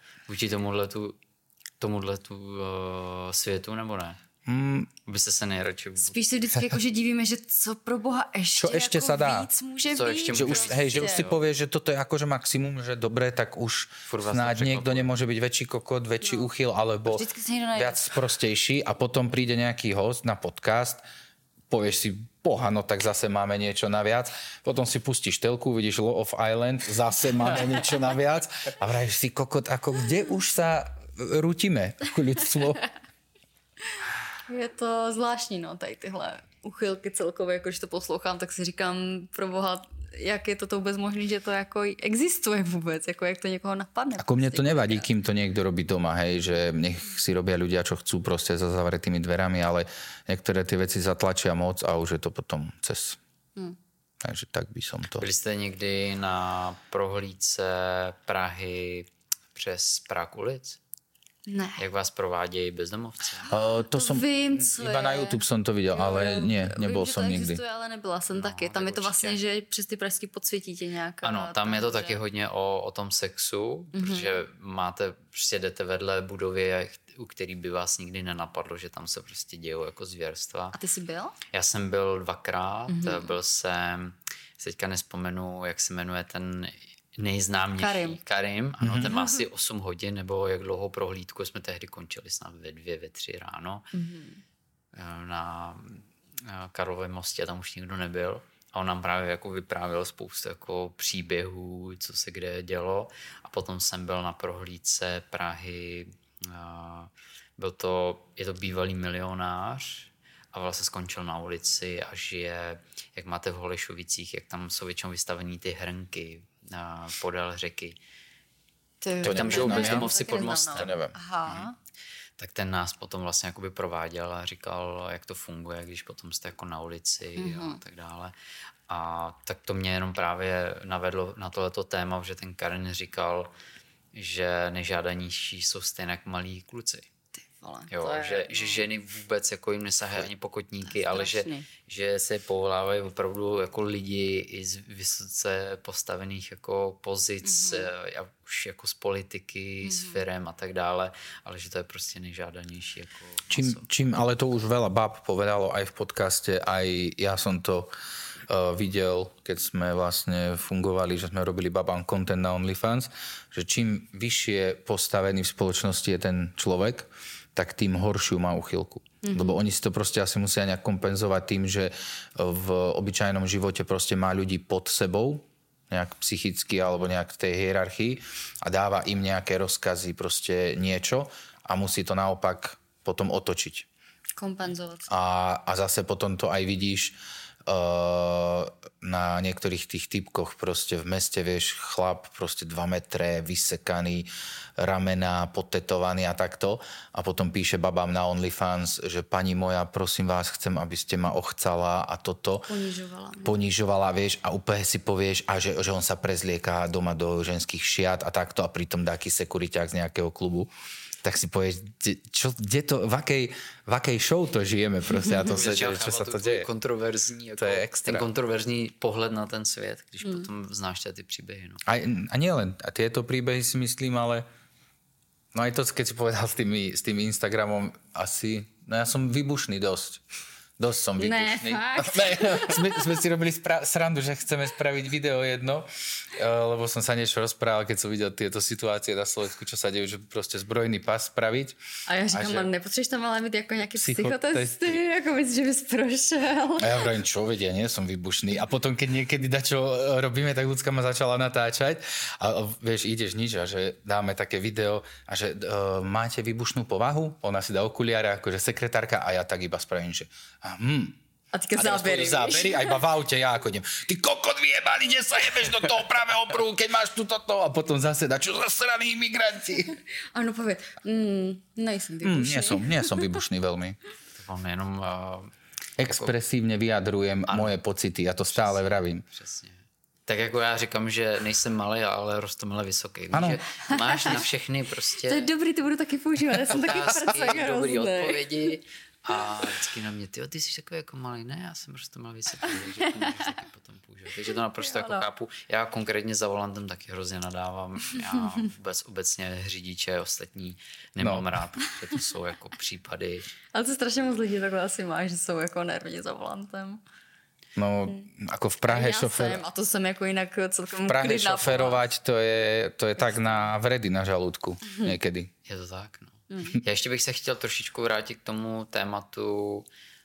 tomuhletu světu, nebo ne? Byste se nejradši... Spíš se vždycky jakože divíme, že co pro Boha ještě, čo ešte jako sa dá? Víc může Co být. ešte že už si povieš, že toto je akože maximum, že dobre, tak už snáď niekto nemôže byť väčší kokot, väčší úchyl, alebo viac sprostejší, a potom príde nejaký host na podcast, povieš si, boha, no tak zase máme niečo naviac, potom si pustíš telku, vidíš Law of Island, zase máme niečo naviac a vravíš si, kokot, ako kde už sa rútime ako ľudstvo? Je to zvláštní, no, tady tyhle uchylky celkově, jako když to poslouchám, tak si říkám, pro Boha, jak je to vůbec možné, že to jako existuje vůbec, jako jak to někoho napadne. Ako mne to nevadí, kým to niekto robí doma, hej, že nech si robia ľudia, čo chcú proste za zavretými dverami, ale niektoré tie veci zatlačia moc a už je to potom cez. Takže tak by som to... Byli jste někdy na prohlídce Prahy přes Prah ulic? Ne. Jak vás provádějí bezdomovci? To som vím, co iba je. na YouTube som to videl, ale nie, nebol vím, som že to nikdy. existuje, ale nebyla jsem taky. Tam tak je to vlastně, určitě. že přes ty pražský podsvětí tě nějaká... Ano, tam je to taky hodně o tom sexu, protože prostě jdete vedle budovy, u který by vás nikdy nenapadlo, že tam se prostě dějou jako zvěrstva. A ty jsi byl? Já jsem byl 2krát, byl jsem, teďka nespomenu, jak se jmenuje ten nejznámější. Karim, ano, ten má asi 8 hodin, nebo jak dlouhou prohlídku, jsme tehdy končili snad ve 2, ve 3 ráno. Na Karlově mostě, tam už nikdo nebyl. A on nám právě jako vyprávěl spoustu jako příběhů, co se kde dělo. A potom jsem byl na prohlídce Prahy, je to bývalý milionář a vlastně skončil na ulici a žije, jak máte v Holešovicích, jak tam jsou většinou vystavený ty hrnky podél řeky. To tam žijou bezdomovci pod mostem. To nevím. Aha. Tak ten nás potom vlastně jakoby prováděl a říkal, jak to funguje, když potom jste jako na ulici a tak dále. A tak to mě jenom právě navedlo na tohleto téma, že ten Karin říkal, že nejžádanější jsou stejně jak malí kluci. Vole, Jo, že ženy vůbec jako jim nesahají ani pokotníky, ale že se povolávají opravdu jako lidi i z vysoce postavených jako pozic, už jako z politiky, z firem a tak dále, ale že to je prostě nejžádanější jako Čím, ale to už veľa bab povedalo aj v podcaste, aj ja som to videl, keď sme vlastne fungovali, že sme robili babám content na OnlyFans, že čím vyššie postavený v spoločnosti je ten človek, tak tým horšiu má uchylku. Lebo oni si to proste asi musia nejak kompenzovať tým, že v obyčajnom živote proste má ľudí pod sebou, nejak psychicky alebo nejak v tej hierarchii a dáva im nejaké rozkazy, proste niečo a musí to naopak potom otočiť. Kompenzovat. A zase potom to aj vidíš na niektorých tých typkoch proste v meste, vieš, chlap proste 2 metre, vysekaný, ramena, potetovaný a takto. A potom píše babám na OnlyFans, že pani moja, prosím vás, chcem, aby ste ma ochcala a toto. Ponižovala, vieš, a úplne si povieš, a že on sa prezlieká doma do ženských šiat a takto a pritom dáky sekuriťák z nejakého klubu. Tak si povieš, v akej show to žijeme prostě a to se děje, čo sa to děje. Kontroverzní, jako to je extra. Ten kontroverzní pohled na ten svět, když potom znáš ty příběhy. No. A nielen, a tieto príbehy si myslím, ale no aj to, keď si povedal s tým Instagramom, asi, no ja som vybušný dosť. Dosť som vybušný. Sme si robili srandu, že chceme spraviť video jedno, lebo som sa niečo rozprával, keď som videl tieto situácie na Slovensku, čo sa dejú, že proste zbrojný pas spraviť. A ja říkám, nepotřebuješ tam ale mít jako nějaké psychotesty, jako myslíš, že bys prošel. A ja vravím, čo vedia, nie som vybušný. A potom, keď niekedy dačo robíme, tak ľudská ma začala natáčať a vieš, ideš nič a že dáme také video a že máte vybušnú povahu? Ona si dá okuliare, akože sekretárka a ja tak iba spravím, že A teďka zábery, a iba v aute ja ako idem, ty kokot vyjebali, kde sa jebeš do toho pravého prúhu, keď máš toto a potom zase čo za sraní imigranti. Ano, povedz, nejsem vybušný. Nie som vybušný veľmi. On jenom expresívne vyjadrujem moje pocity, ja to stále vravím. Přesně. Tak jako já říkám, že nejsem malý, ale rostomile vysoký. Víš, že máš na všechny prostě... To je dobrý, to budu taky používat, já jsem taky prcek dobrý hrozný. odpovědi. A vždycky na mě, ty jsi takový jako malý, ne, já jsem prostě malý vysoký, takže to můžeš taky potom používat. Takže to naprosto jako chápu. Já konkrétně za volantem taky hrozně nadávám. Já obecně řidiče ostatní nemám rád, protože to jsou jako případy. Ale to strašně moc lidí takhle asi má, že jsou jako nervní za volantem. No, ako v Prahe a to jsem jako jinak celkem v Prahe šoferovať, to je tak na vredy na žalúdku niekedy. Je to tak, no. Já ještě bych se chtěl trošičku vrátit k tomu tématu,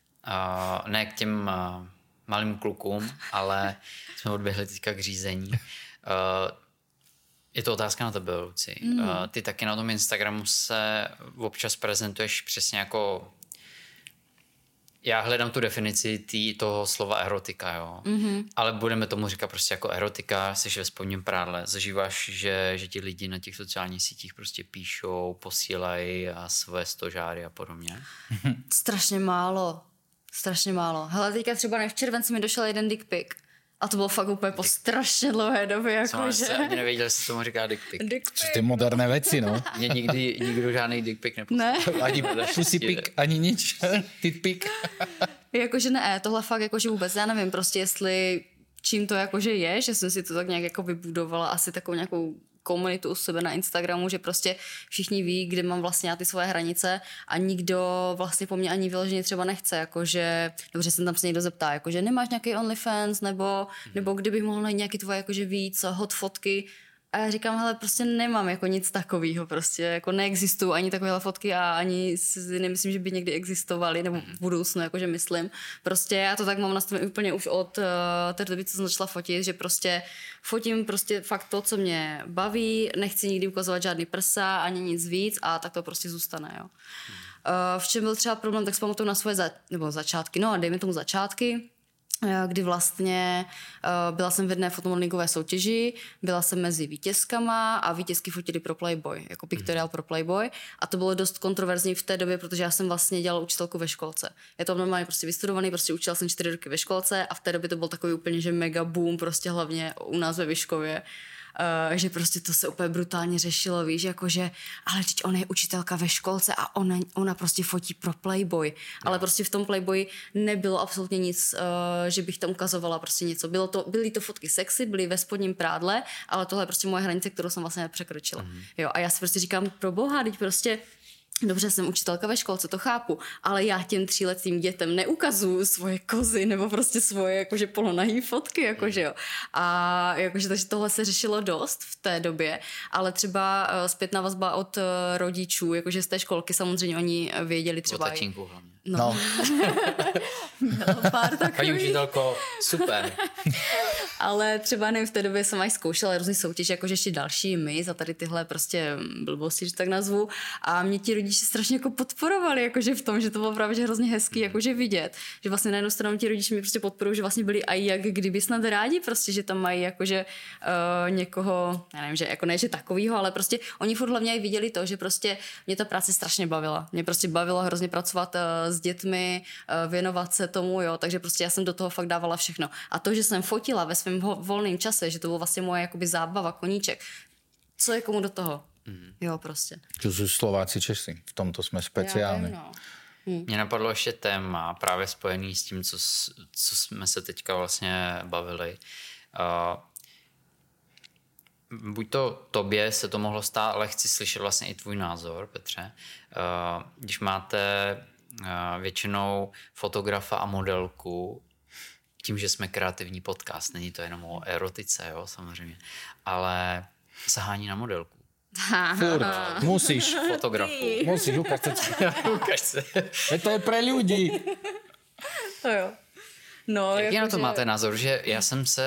ne k těm malým klukům, ale jsme odběhli teďka k řízení. Je to otázka na tebe, Luci. Ty taky na tom Instagramu se občas prezentuješ přesně jako já hledám tu definici toho slova erotika, jo. Ale budeme tomu říkat prostě jako erotika, jsi ve spodním prádle, zažíváš, že ti lidi na těch sociálních sítích prostě píšou, posílají a své stožáry a podobně? Strašně málo. Hele, teďka třeba v červenci mi došel jeden dick pic. A to bylo fakt úplně po strašně dlouhé době. Jako jsem ani nevěděl, že se tomu říká dick pic. Čo ty moderné věci, no. Mě nikdo žádný dick pic neposlal. Ne. Ani pussy pic, ani nič. Tit pic. Jakože ne, tohle fakt jakože vůbec, já nevím prostě, jestli čím to jakože je, že jsem si to tak nějak jako vybudovala asi takovou nějakou komunitu u sebe na Instagramu, že prostě všichni ví, kde mám vlastně já ty svoje hranice a nikdo vlastně po mně ani vyloženě třeba nechce, jakože, dobře se tam se někdo zeptá, jakože nemáš nějaký OnlyFans, nebo kdybych mohl najít nějaký tvoje jakože víc hot fotky. A já říkám, hele, prostě nemám jako nic takového, prostě jako neexistují ani takovéhle fotky a ani si nemyslím, že by někdy existovaly, nebo v budoucnu, jakože myslím. Prostě já to tak mám nastavené úplně už od té doby, co jsem začala fotit, že prostě fotím prostě fakt to, co mě baví, nechci nikdy ukazovat žádný prsa, ani nic víc a tak to prostě zůstane, jo. V čem byl třeba problém, tak si pamatuju na svoje začátky, no a dejme tomu začátky, kdy vlastně byla jsem v jedné fotomodelingové soutěži, byla jsem mezi vítězkama a vítězky fotili pro Playboy, jako pictorial pro Playboy a to bylo dost kontroverzní v té době, protože já jsem vlastně dělala učitelku ve školce. Je to normálně prostě vystudovaný, prostě učila jsem 4 roky ve školce a v té době to byl takový úplně, že mega boom, prostě hlavně u nás ve Vyškově. Že prostě to se úplně brutálně řešilo, víš, jakože, ale teď ona je učitelka ve školce a ona prostě fotí pro Playboy, ale prostě v tom Playboy nebylo absolutně nic, že bych tam ukazovala prostě něco. Byly to fotky sexy, byly ve spodním prádle, ale tohle je prostě moje hranice, kterou jsem vlastně nepřekročila. Jo, a já si prostě říkám, pro boha, teď prostě dobře, jsem učitelka ve školce, to chápu, ale já těm 3letým dětem neukazuju svoje kozy nebo prostě svoje jakože polonahý fotky, jakože jo. A jakože takže tohle se řešilo dost v té době, ale třeba zpětná vazba od rodičů, jakože z té školky samozřejmě oni věděli třeba... O tatínku hlavně. No. Pár takových. Paní učitelko, super. Ale třeba nevím, v té době jsem aj zkoušela různý soutěže, jakože ještě další my za tady tyhle prostě blbosti, že tak nazvu. A mě ti rodiče strašně jako podporovali, jakože v tom, že to bylo právě že hrozně hezký, jakože vidět. Že vlastně na jednu stranu ti rodiče mi prostě podporují, že vlastně byli aj jak kdyby snad rádi, prostě, že tam mají jakože někoho, já nevím, že jako ne, že takovýho, ale prostě oni furt hlavně i viděli to, že prostě mě ta práce strašně bavila. Mě prostě bavilo hrozně pracovat s dětmi, věnovat se tomu, jo, takže prostě já jsem do toho fakt dávala všechno. A to, že jsem fotila ve svém volném čase, že to bylo vlastně moje jakoby zábava, koníček. Co je komu do toho? Jo, prostě. To jsou Slováci, Česi. V tomto jsme speciální. No. Mně napadlo ještě téma právě spojený s tím, co jsme se teďka vlastně bavili. Buď to tobě se to mohlo stát, ale chci slyšet vlastně i tvůj názor, Petře. Když máte většinou fotografa a modelku, tím, že jsme kreativní podcast, není to jenom o erotice, jo, samozřejmě, ale sahání na modelku. Furt, musíš. Fotografu. Musíš, Ukaž se. To je pre ľudí. To jo. No, Jaký na to že... máte názor, že já jsem se...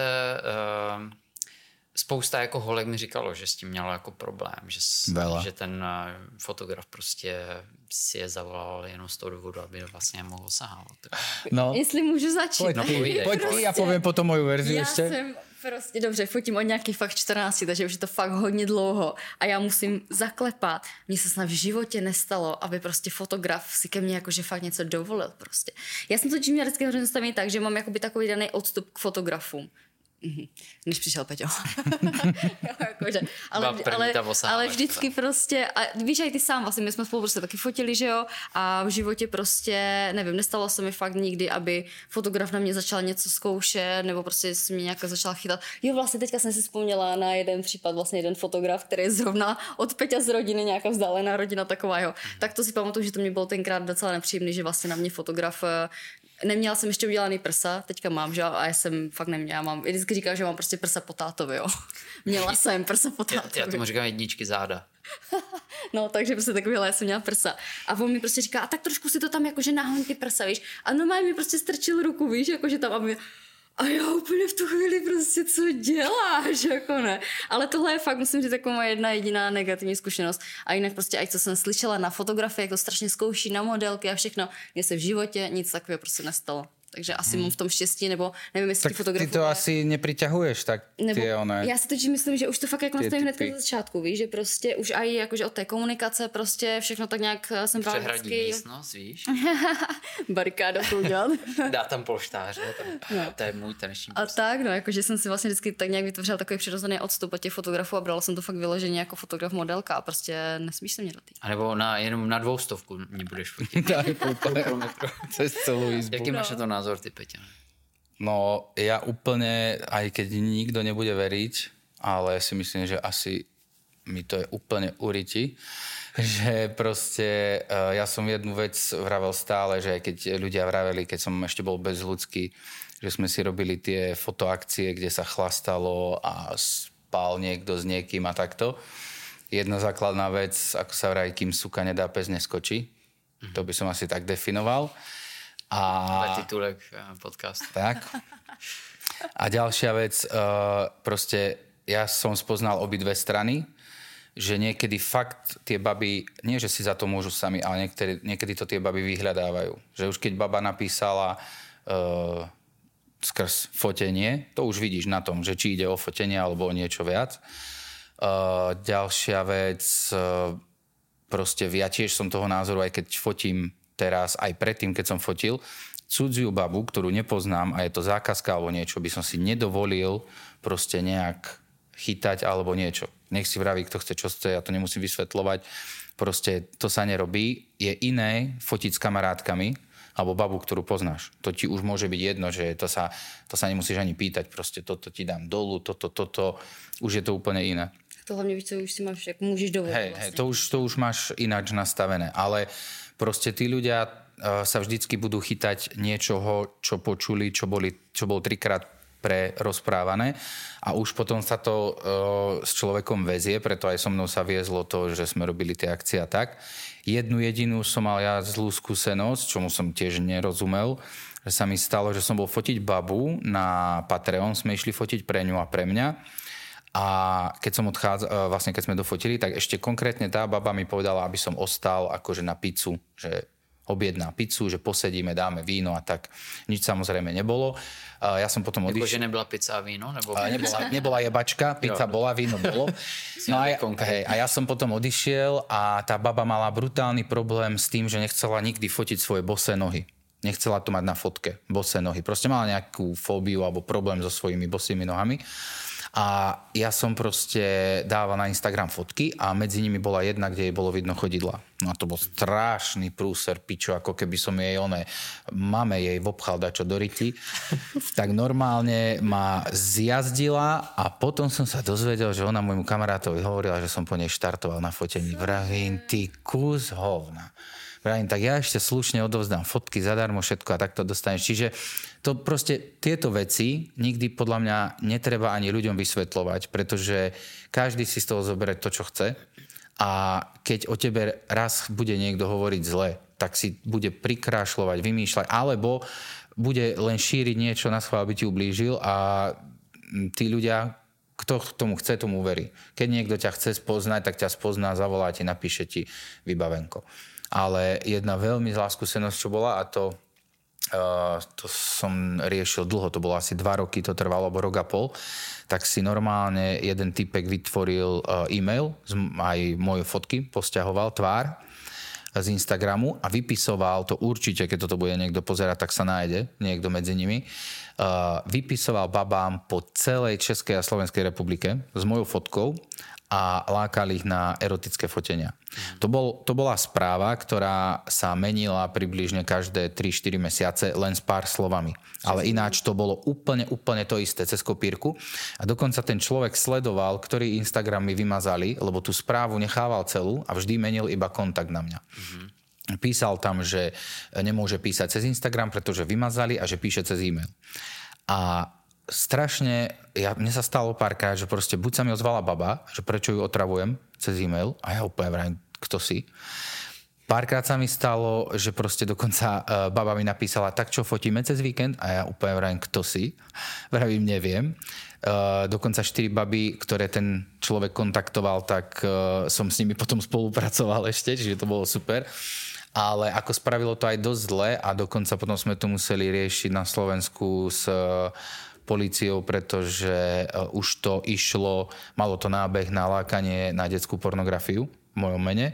spousta jako holek mi říkalo, že s tím mělo jako problém, že ten fotograf prostě si je zavolal jenom z toho důvodu, aby vlastně mohl sahávat. No. Jestli můžu začít. Pojď ty, já povím potom moju verzi ještě. Já jsem prostě, dobře, fotím od nějakých fakt 14, takže už je to fakt hodně dlouho a já musím zaklepat. Mně se snad v životě nestalo, aby prostě fotograf si ke mně jakože fakt něco dovolil prostě. Já jsem to tím vždycky hrozně nastavený tak, že mám jakoby takový daný odstup k fotografům. Než přišel Peťo. Jakože, ale vždycky prostě, a víš, aj ty sám, vlastně my jsme spolu prostě taky fotili, že jo, a v životě prostě, nevím, nestalo se mi fakt nikdy, aby fotograf na mě začal něco zkoušet, nebo prostě se mě nějak začala chytat. Jo, vlastně teďka jsem si vzpomněla na jeden případ, vlastně jeden fotograf, který je zrovna od Peťa z rodiny, nějaká vzdálená rodina taková, jo. Tak to si pamatuju, že to mě bylo tenkrát docela nepříjemný, že vlastně na mě fotograf neměla jsem ještě udělaný prsa, teďka mám, že a já jsem fakt neměla, mám, vždycky říkám, že mám prostě prsa po tátovi, jo. Měla jsem prsa po tátovi. Já tomu říkám jedničky záda. No, takže prostě takovýhle, já jsem měla prsa. A on mi prostě říká, a tak trošku si to tam jakože nahoň ty prsa, víš. A normálně mi prostě strčil ruku, víš, jakože tam, aby A já úplně v tu chvíli prostě, co děláš, jako ne. Ale tohle je fakt, musím říct, jako moje jedna jediná negativní zkušenost. A jinak prostě, ať co jsem slyšela na fotografii, jak to strašně zkouší na modelky a všechno, mně se v životě nic takového prostě nestalo. Takže asi mám v tom štěstí, nebo nevím, jestli tak ti fotografuje. ty to asi nepriťahuješ, tak ty one... Já si totiž myslím, že už to fakt jako nastavím hned na začátku, víš, že prostě už aj jakože od té komunikace prostě všechno tak nějak jsem právě přehradí místnost, víš? Barikáda to udělat. Dá tam polštáře, no. To je můj taneční A tak, no, jakože jsem si vlastně vždycky tak nějak vytvořila takový přirozený odstup od těch fotografů a brala jsem to fakt vyloženě jako fotograf modelka a prostě nesmíš se mě dotýkat. A nebo jenom na 200 mě budeš fotit. Cez celú izbu. Jaký máš na to názor, ty, Peťa? No, ja úplne, aj keď nikto nebude veriť, ale si myslím, že asi mi to je úplne uriti, že proste ja som jednu vec vravel stále, že keď ľudia vraveli, keď som ešte bol bezľudský, že sme si robili tie fotoakcie, kde sa chlastalo a spal niekto s niekým a takto. Jedna základná vec, ako sa vraví, kým suka nedá, pes neskočí. To by som asi tak definoval. A titulek podcastu. Tak. A ďalšia vec, proste ja som spoznal obidve strany, že niekedy fakt tie baby, nie že si za to môžu sami, ale niekedy to tie baby vyhľadávajú. Že už keď baba napísala skrz fotenie, to už vidíš na tom, že či ide o fotenie alebo o niečo viac. Ďalšia vec, proste ja tiež som toho názoru, aj keď fotím teraz, aj predtým, keď som fotil, cudziu babu, ktorú nepoznám a je to zákazka alebo niečo, by som si nedovolil proste nejak chytať alebo niečo. Nech si vraví, kto chce, čo chce, ja to nemusím vysvetľovať. Proste to sa nerobí. Je iné fotiť s kamarátkami alebo babu, ktorú poznáš. To ti už môže byť jedno, že to sa nemusíš ani pýtať. Proste toto ti dám dolu, toto. Už je to úplne iné. To hlavne víš, co už si máš, jak môžeš dovoliť. Hej, to už máš ináč nastavené. Ale proste tí ľudia sa vždycky budú chytať niečoho, čo počuli, čo bolo 3-krát prerozprávané a už potom sa to s človekom väzie, preto aj so mnou sa viezlo to, že sme robili tie akcie a tak. Jednu jedinú som mal ja zlú skúsenosť, čomu som tiež nerozumel, že sa mi stalo, že som bol fotiť babu na Patreon, sme išli fotiť pre ňu a pre mňa. A keď som vlastne keď sme dofotili, tak ešte konkrétne tá baba mi povedala, aby som ostal akože na pizzu, že objedná pizzu, že posedíme, dáme víno a tak. Nič samozrejme nebolo. Ja som potom odišiel. Že nebyla pizza a víno? Nebo... Nebola jebačka, pizza bola, víno bolo. No a ja som potom odišiel a tá baba mala brutálny problém s tým, že nechcela nikdy fotiť svoje bosé nohy. Nechcela to mať na fotke, bosé nohy. Proste mala nejakú fóbiu alebo problém so svojimi bosými nohami. A ja som proste dával na Instagram fotky a medzi nimi bola jedna, kde jej bolo vidno chodidla. No a to bol strašný prúser, pičo, ako keby som jej mame jej vopchal dačo do ryti. Tak normálne ma zjazdila a potom som sa dozvedel, že ona môjmu kamarátovi hovorila, že som po nej štartoval na fotení. Vravím, ty kus hovna. Vravím, tak ja ešte slušne odovzdám fotky zadarmo, všetko a takto dostaneš. Čiže to proste tieto veci nikdy podľa mňa netreba ani ľuďom vysvetľovať, pretože každý si z toho zoberie to, čo chce a keď o tebe raz bude niekto hovoriť zle, tak si bude prikrášľovať, vymýšľať, alebo bude len šíriť niečo na schvál, aby ti ublížil a tí ľudia, kto tomu chce, tomu verí. Keď niekto ťa chce spoznať, tak ťa spozná, zavolá ti, napíše ti vybavenko. Ale jedna veľmi zlá skúsenosť, čo bola, a to som riešil dlho, to bolo asi 2 roky, to trvalo, alebo rok a pol, tak si normálne jeden typek vytvoril e-mail, aj moje fotky posťahoval, tvár z Instagramu a vypisoval, to určite, keď toto bude niekto pozerať, tak sa nájde niekto medzi nimi, vypisoval babám po celej Českej a Slovenskej republike s mojou fotkou a lákal ich na erotické fotenia. To bola správa, ktorá sa menila približne každé 3-4 mesiace len s pár slovami. Ale ináč to bolo úplne to isté cez kopírku. A dokonca ten človek sledoval, ktorý Instagram mi vymazali, lebo tú správu nechával celú a vždy menil iba kontakt na mňa. Písal tam, že nemôže písať cez Instagram, pretože vymazali a že píše cez e-mail. A strašne, mne sa stalo párkrát, že proste buď sa mi ozvala baba, že prečo ju otravujem cez e-mail a ja úplne vrajím, kto si. Párkrát sa mi stalo, že proste dokonca baba mi napísala, tak čo, fotíme cez víkend? A ja úplne vravím, kto si? Vravím, neviem. Dokonca 4 baby, ktoré ten človek kontaktoval, tak som s nimi potom spolupracoval ešte, čiže to bolo super. Ale ako spravilo to aj dosť zle a dokonca potom sme to museli riešiť na Slovensku s políciou, pretože už to išlo, malo to nábeh na lákanie na detskú pornografiu v mojom mene,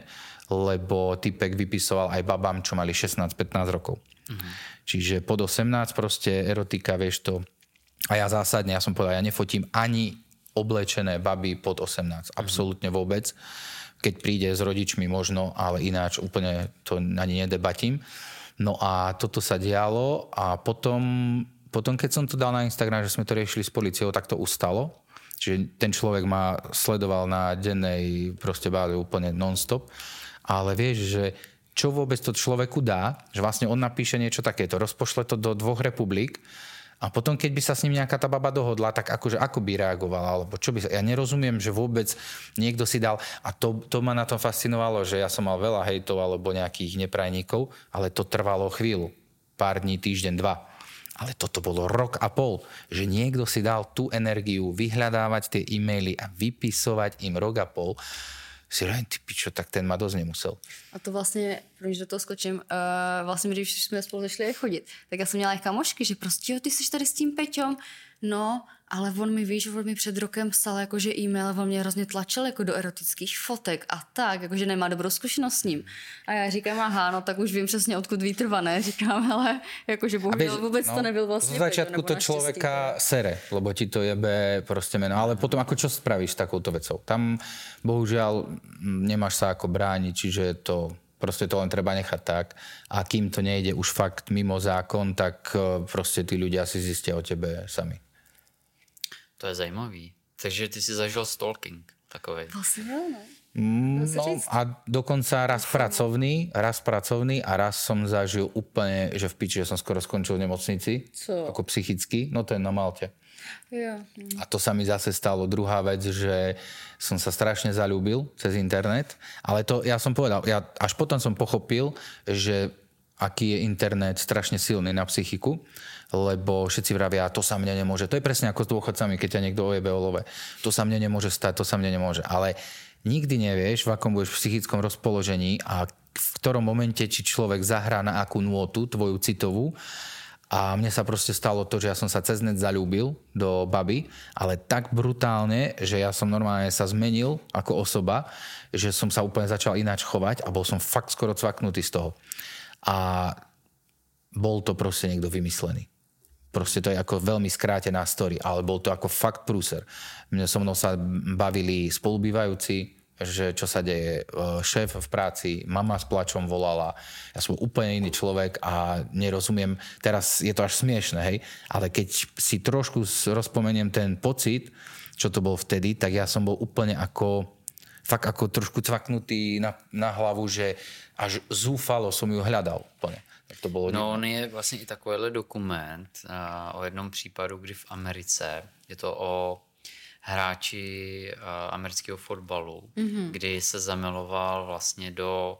lebo typek vypisoval aj babám, čo mali 16-15 rokov. Čiže pod 18 proste erotika, vieš to. A ja zásadne, ja som povedal, ja nefotím ani oblečené baby pod 18. Absolútne vôbec. Keď príde s rodičmi možno, ale ináč úplne to ani nedebatím. No a toto sa dialo a potom keď som to dal na Instagram, že sme to riešili s políciou, tak to ustalo. Čiže ten človek ma sledoval na dennej proste báze úplne non-stop. Ale vieš, že čo vôbec to človeku dá, že vlastne on napíše niečo takéto, rozpošle to do 2 republik a potom, keď by sa s ním nejaká tá baba dohodla, tak akože ako by reagovala, alebo čo by sa... Ja nerozumiem, že vôbec niekto si dal... A to ma na tom fascinovalo, že ja som mal veľa hejtov alebo nejakých neprajníkov, ale to trvalo chvíľu. Pár dní, týždeň, 2. Ale toto bolo 1,5 roka, že niekto si dal tú energiu vyhľadávať tie e-maily a vypisovať im 1,5 roka. Si říkám, ty pičo, tak ten ma dosť nemusel. A to vlastně, když do toho skočím, vlastně když jsme spolu začali chodit, tak já jsem měla kamošky, že prostě jo, ty jsi tady s tím Peťom, no, ale on mi před rokem psal jakože e-mail, on mě hrozně tlačil jako do erotických fotek a tak, jakože nemá dobrou zkušenost s ním. A já říkám, aha, no tak už vím přesně, odkud výtrvané, říkám, ale jakože bohužel vůbec to nebyl vlastně. V začiatku to človeka sere, lebo ti to jebe proste meno, ale potom ako čo spravíš s takouto vecou? Tam bohužiaľ nemáš sa ako brániť, čiže to proste to len treba nechať tak. A kým to nejde už fakt mimo zákon, tak proste tí ľudia si zistia o tebe sami. To je zajímavý. Takže ty si zažil stalking takovej. Vlastně jo, ne? No a dokonca raz pracovný a raz som zažil úplne, že v piči, že som skoro skončil v nemocnici. Co? Ako psychicky. No to je na Malte. Jo. A to sa mi zase stalo druhá vec, že som sa strašne zaľúbil cez internet, ale to ja som povedal, až potom som pochopil, že aký je internet strašne silný na psychiku, lebo všetci vravia, to sa mne nemôže. To je presne ako s dôchodcami, keď ťa niekto ojebe o love. To sa mne nemôže stať, to sa mne nemôže. Ale nikdy nevieš, v akom budeš v psychickom rozpoložení a v ktorom momente či človek zahrá na akú nôtu, tvoju citovú. A mne sa proste stalo to, že ja som sa cez net zaľúbil do baby, ale tak brutálne, že ja som normálne sa zmenil ako osoba, že som sa úplne začal ináč chovať a bol som fakt skoro cvaknutý z toho. A bol to proste niekto vymyslený. Proste to je ako veľmi skrátená story, ale bol to ako fakt prúser. Mne so mnou sa bavili spolubývajúci, že čo sa deje, šéf v práci, mama s plačom volala, ja som úplne iný človek a nerozumiem, teraz je to až smiešné, hej, ale keď si trošku rozpomeniem ten pocit, čo to bol vtedy, tak ja som bol úplne ako, fakt ako trošku cvaknutý na hlavu, že až zúfalo som ju hľadal úplne. To bylo no on je vlastně i takovýhle dokument o jednom případu, kdy v Americe, je to o hráči amerického fotbalu, kdy se zamiloval vlastně do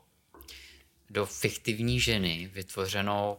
fiktivní ženy vytvořenou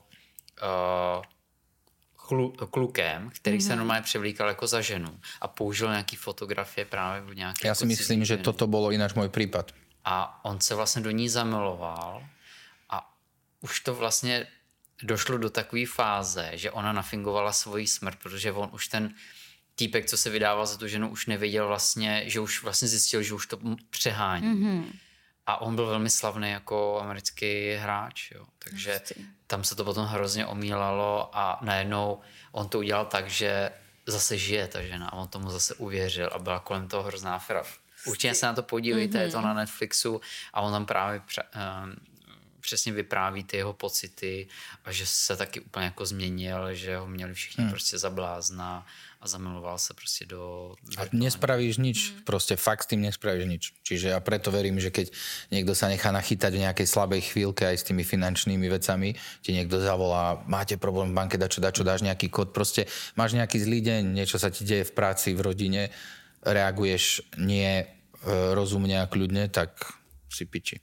klukem, který se normálně převlíkal jako za ženu a použil nějaký fotografie právě v nějaké... Já si myslím, že toto bylo ináč můj případ. A on se vlastně do ní zamiloval a už to vlastně došlo do takové fáze, že ona nafingovala svoji smrt, protože on už ten týpek, co se vydával za tu ženu, už nevěděl vlastně, že už vlastně zjistil, že už to přehání. A on byl velmi slavný jako americký hráč, jo. Takže tam se to potom hrozně omílalo a najednou on to udělal tak, že zase žije ta žena a on tomu zase uvěřil a byla kolem toho hrozná aféra. Určitě se na to podívejte, je to na Netflixu a on tam právě přesně vypráví ty jeho pocity a že se taky úplně jako změnil, že ho měli všichni prostě za blázna a zamiloval sa prostě do... A nespravíš nič, proste fakt s tým nespravíš nič. Čiže ja preto verím, že keď niekto sa nechá nachytať v nejakej slabej chvíľke aj s tými finančnými vecami, ti niekto zavolá, máte problém v banke, dačo, dáš nejaký kód, proste máš nejaký zlý deň, niečo sa ti deje v práci, v rodine, reaguješ nie rozumne a kľudne, tak si piči.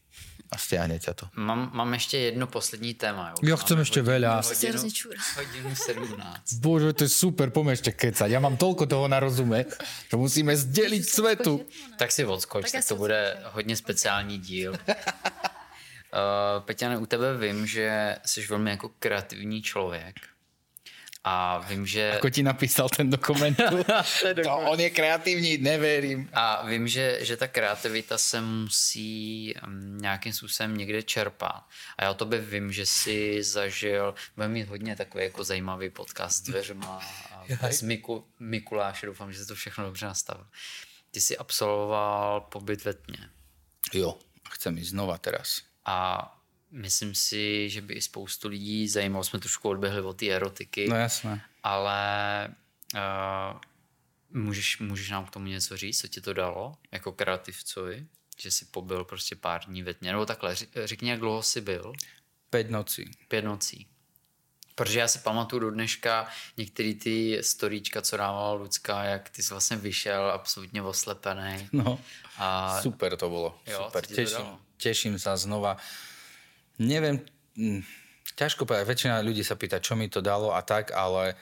a stiahne ťa to. Mám ještě jedno poslední téma. Ja chcem ešte veľa. Hodinu 17. Bože, to je super, poďme ešte kecať. Ja mám toľko toho na rozume, že musíme zdeliť svetu. Tak si odskoč, tak to bude hodně speciální díl. Peťane, u tebe vím, že jsi velmi jako kreativní člověk. A vím, že... Ako ti napísal ten dokument? To on je kreativní, neverím. A vím, že ta kreativita se musí nějakým způsobem někde čerpat. A já o tobě vím, že jsi zažil, budeme mít hodně takový jako zajímavý podcast s dveřma a bez Mikuláše, doufám, že se to všechno dobře nastavil. Ty jsi absolvoval pobyt ve tmě. Jo, chcem ísť znova teraz. A myslím si, že by i spoustu lidí zajímalo, jsme trošku odběhli od té erotiky. No jasné. Ale můžeš nám k tomu něco říct, co ti to dalo, jako kreativcovi, že jsi pobyl prostě pár dní ve tmě, nebo takhle, řekni, jak dlouho jsi byl? 5 nocí. 5 nocí. Protože já si pamatuju do dneška některý ty storíčka, co dávala Lucka, jak ty jsi vlastně vyšel absolutně oslepený. No, super to bolo. Jo, super, teším sa znova. Neviem, ťažko povedať, väčšina ľudí sa pýta, čo mi to dalo a tak, ale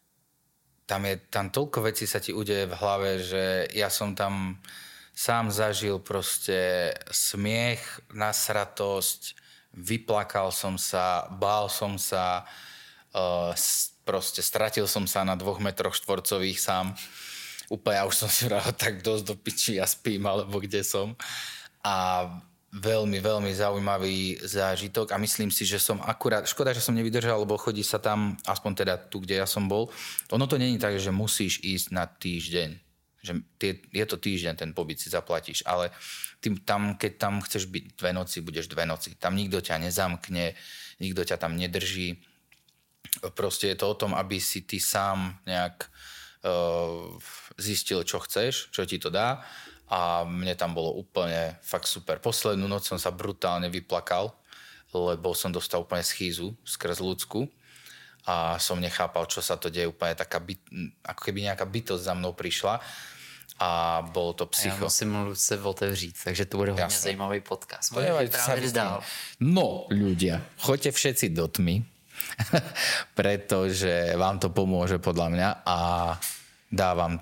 tam toľko vecí sa ti udeje v hlave, že ja som tam sám zažil proste smiech, nasratosť, vyplakal som sa, bál som sa, proste stratil som sa na 2 metroch štvorcových sám. Úplne, ja už som si vral tak dosť do piči, ja spím, alebo kde som. A veľmi, veľmi zaujímavý zážitok a myslím si, že som akurát, škoda, že som nevydržal, lebo chodí sa tam, aspoň teda tu, kde ja som bol. Ono to není tak, že musíš ísť na týždeň. Že je to týždeň, ten pobyt si zaplatíš, ale keď tam chceš byť 2 noci, budeš 2 noci. Tam nikto ťa nezamkne, nikto ťa tam nedrží. Proste je to o tom, aby si ty sám nejak zistil, čo chceš, čo ti to dá. A mne tam bolo úplne fakt super. Poslednú noc som sa brutálne vyplakal, lebo som dostal úplne schýzu skrz ľudsku a som nechápal, čo sa to deje. Úplne taká ako keby nejaká bytosť za mnou prišla a bolo to psycho. Já musím Lucce otevřít, takže to bude hodně zajímavý podcast. No, ľudia, choďte všetci do tmy, pretože vám to pomôže podľa mňa a dávam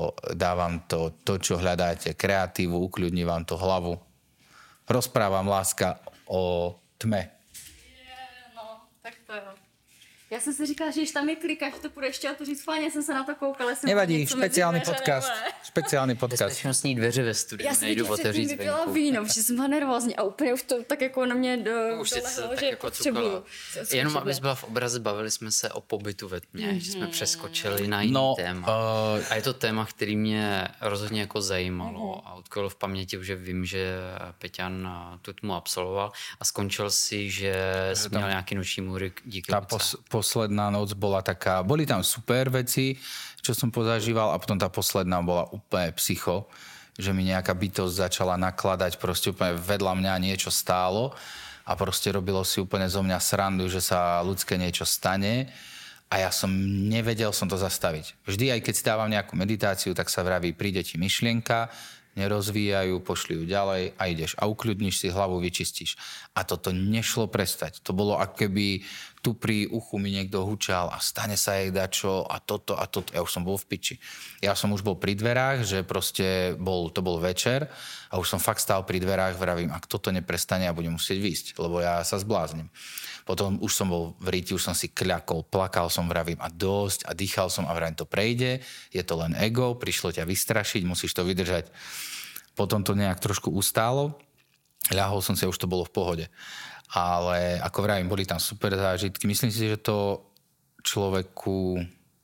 to, čo hľadáte, kreatívu, ukľudní vám to hlavu. Rozprávam, láska, o tme. No, tak to jo. Já jsem si říkala, že když tam je klika, že to půjde ještě otevřít, fajně jsem se na to koukala. Nevadí, špeciálny podcast. Špeciálny podcast. Bezpečnostní dveře ve studiu, já nejdu otevřít zvenku. Já jsem vypila víno, protože jsem byla nervózní a úplně už to tak jako na mě dolehlo, že jako potřebuju. Jenom abys byla v obraze, bavili jsme se o pobytu ve tmě, že jsme přeskočili na jiný téma. A je to téma, který mě rozhodně jako zajímalo a utkvělo v paměti, že vím, že Peťan tu tmu absolvoval a skončil si, že jsi měl nějaký noční můry díky Lucce. Posledná noc bola taká, boli tam super veci, čo som pozažíval a potom tá posledná bola úplne psycho, že mi nejaká bytosť začala nakladať, proste úplne vedľa mňa niečo stálo a proste robilo si úplne zo mňa srandu, že sa ľudské niečo stane a ja som nevedel to zastaviť. Vždy, aj keď si dávam nejakú meditáciu, tak sa vraví, príde ti myšlienka, nerozvíjajú, pošli ju ďalej a ideš a ukľudníš si hlavu, vyčistíš. A toto nešlo prestať. To bolo, ako keby tu pri uchu mi niekto hučal a stane sa jej dačo a toto a toto. Ja už som bol v piči. Ja som už bol pri dverách, že proste to bol večer a už som fakt stál pri dverách, vravím, ak toto neprestane, ja budem musieť výjsť, lebo ja sa zbláznim. Potom už som bol v ríti, už som si kľakol, plakal som, vravím a dosť a dýchal som a vravím, to prejde, je to len ego, prišlo ťa vystrašiť, musíš to vydržať. Potom to nejak trošku ustálo, ľahol som si a už to bolo v pohode. Ale ako vravím, boli tam super zážitky. Myslím si, že to človeku...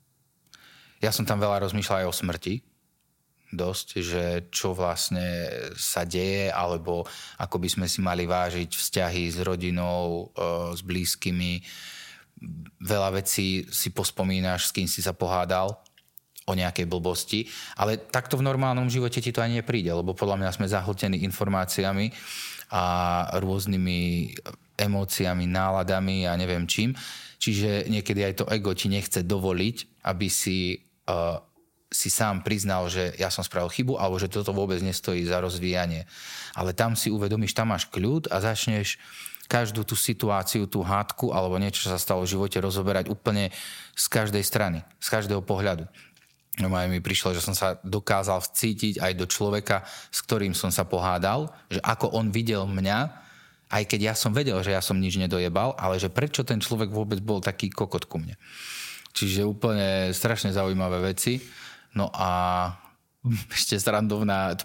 Ja som tam veľa rozmýšľal aj o smrti. Dosť, že čo vlastne sa deje, alebo ako by sme si mali vážiť vzťahy s rodinou, s blízkymi. Veľa vecí si pospomínaš, s kým si sa pohádal o nejakej blbosti, ale takto v normálnom živote ti to ani nepríde, lebo podľa mňa sme zahltení informáciami a rôznymi emóciami, náladami a neviem čím. Čiže niekedy aj to ego ti nechce dovoliť, aby si si sám priznal, že ja som spravil chybu, alebo že toto vôbec nestojí za rozvíjanie. Ale tam si uvedomíš, tam máš kľud a začneš každú tú situáciu, tú hádku alebo niečo, čo sa stalo v živote, rozoberať úplne z každej strany, z každého pohľadu. No mi prišlo, že som sa dokázal vcítiť aj do človeka, s ktorým som sa pohádal, že ako on videl mňa, aj keď ja som vedel, že ja som nič nedojebal, ale že prečo ten človek vôbec bol taký kokot ku mne. Čiže úplne strašne zaujímavé veci. No a ešte srandovná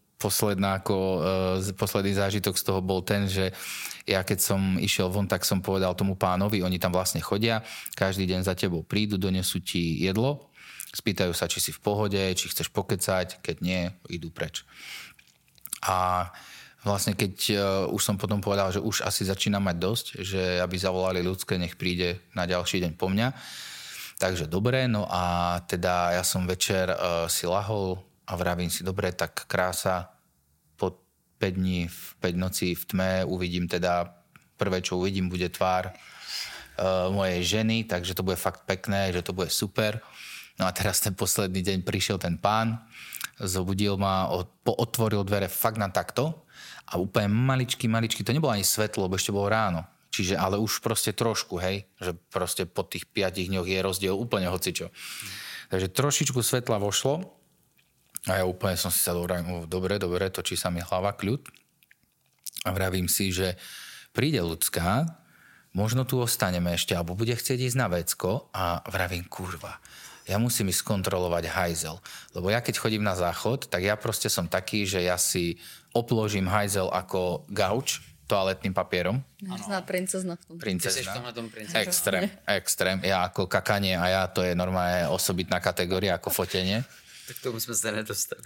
posledný zážitok z toho bol ten, že ja keď som išiel von, tak som povedal tomu pánovi, oni tam vlastne chodia, každý deň za tebou prídu, donesú ti jedlo, spýtajú sa, či si v pohode, či chceš pokecať, keď nie, idú preč. A vlastne keď už som potom povedal, že už asi začínam mať dosť, že aby zavolali ľudské, nech príde na ďalší deň po mňa. Takže dobre, no a teda ja som večer si lahol a vravím si, dobre, tak krása, po 5 dní, 5 nocí v tme uvidím teda, prvé, čo uvidím, bude tvár mojej ženy, takže to bude fakt pekné, že to bude super. No a teraz ten posledný deň prišiel ten pán, zobudil ma, otvoril dvere fakt na takto a úplne maličky, to nebolo ani svetlo, lebo ešte bolo ráno. Čiže, ale už proste trošku, hej, že proste po tých 5 dňoch je rozdiel úplne hocičo. Takže trošičku svetla vošlo a ja úplne som si sa dobre, točí sa mi hlava, kľud. A vravím si, že príde ľudská, možno tu ostaneme ešte, alebo bude chcieť ísť na vecko a vravím, kurva, ja musím ísť skontrolovať hajzel. Lebo ja keď chodím na záchod, tak ja proste som taký, že ja si opložím hajzel ako gauč toaletným papierom. Možná princezna v tom. Princezna. Extrém. Extrém. Ja ako kakanie a ja to je normálne osobitná kategória ako fotenie. Tak tomu sme sa nedostali.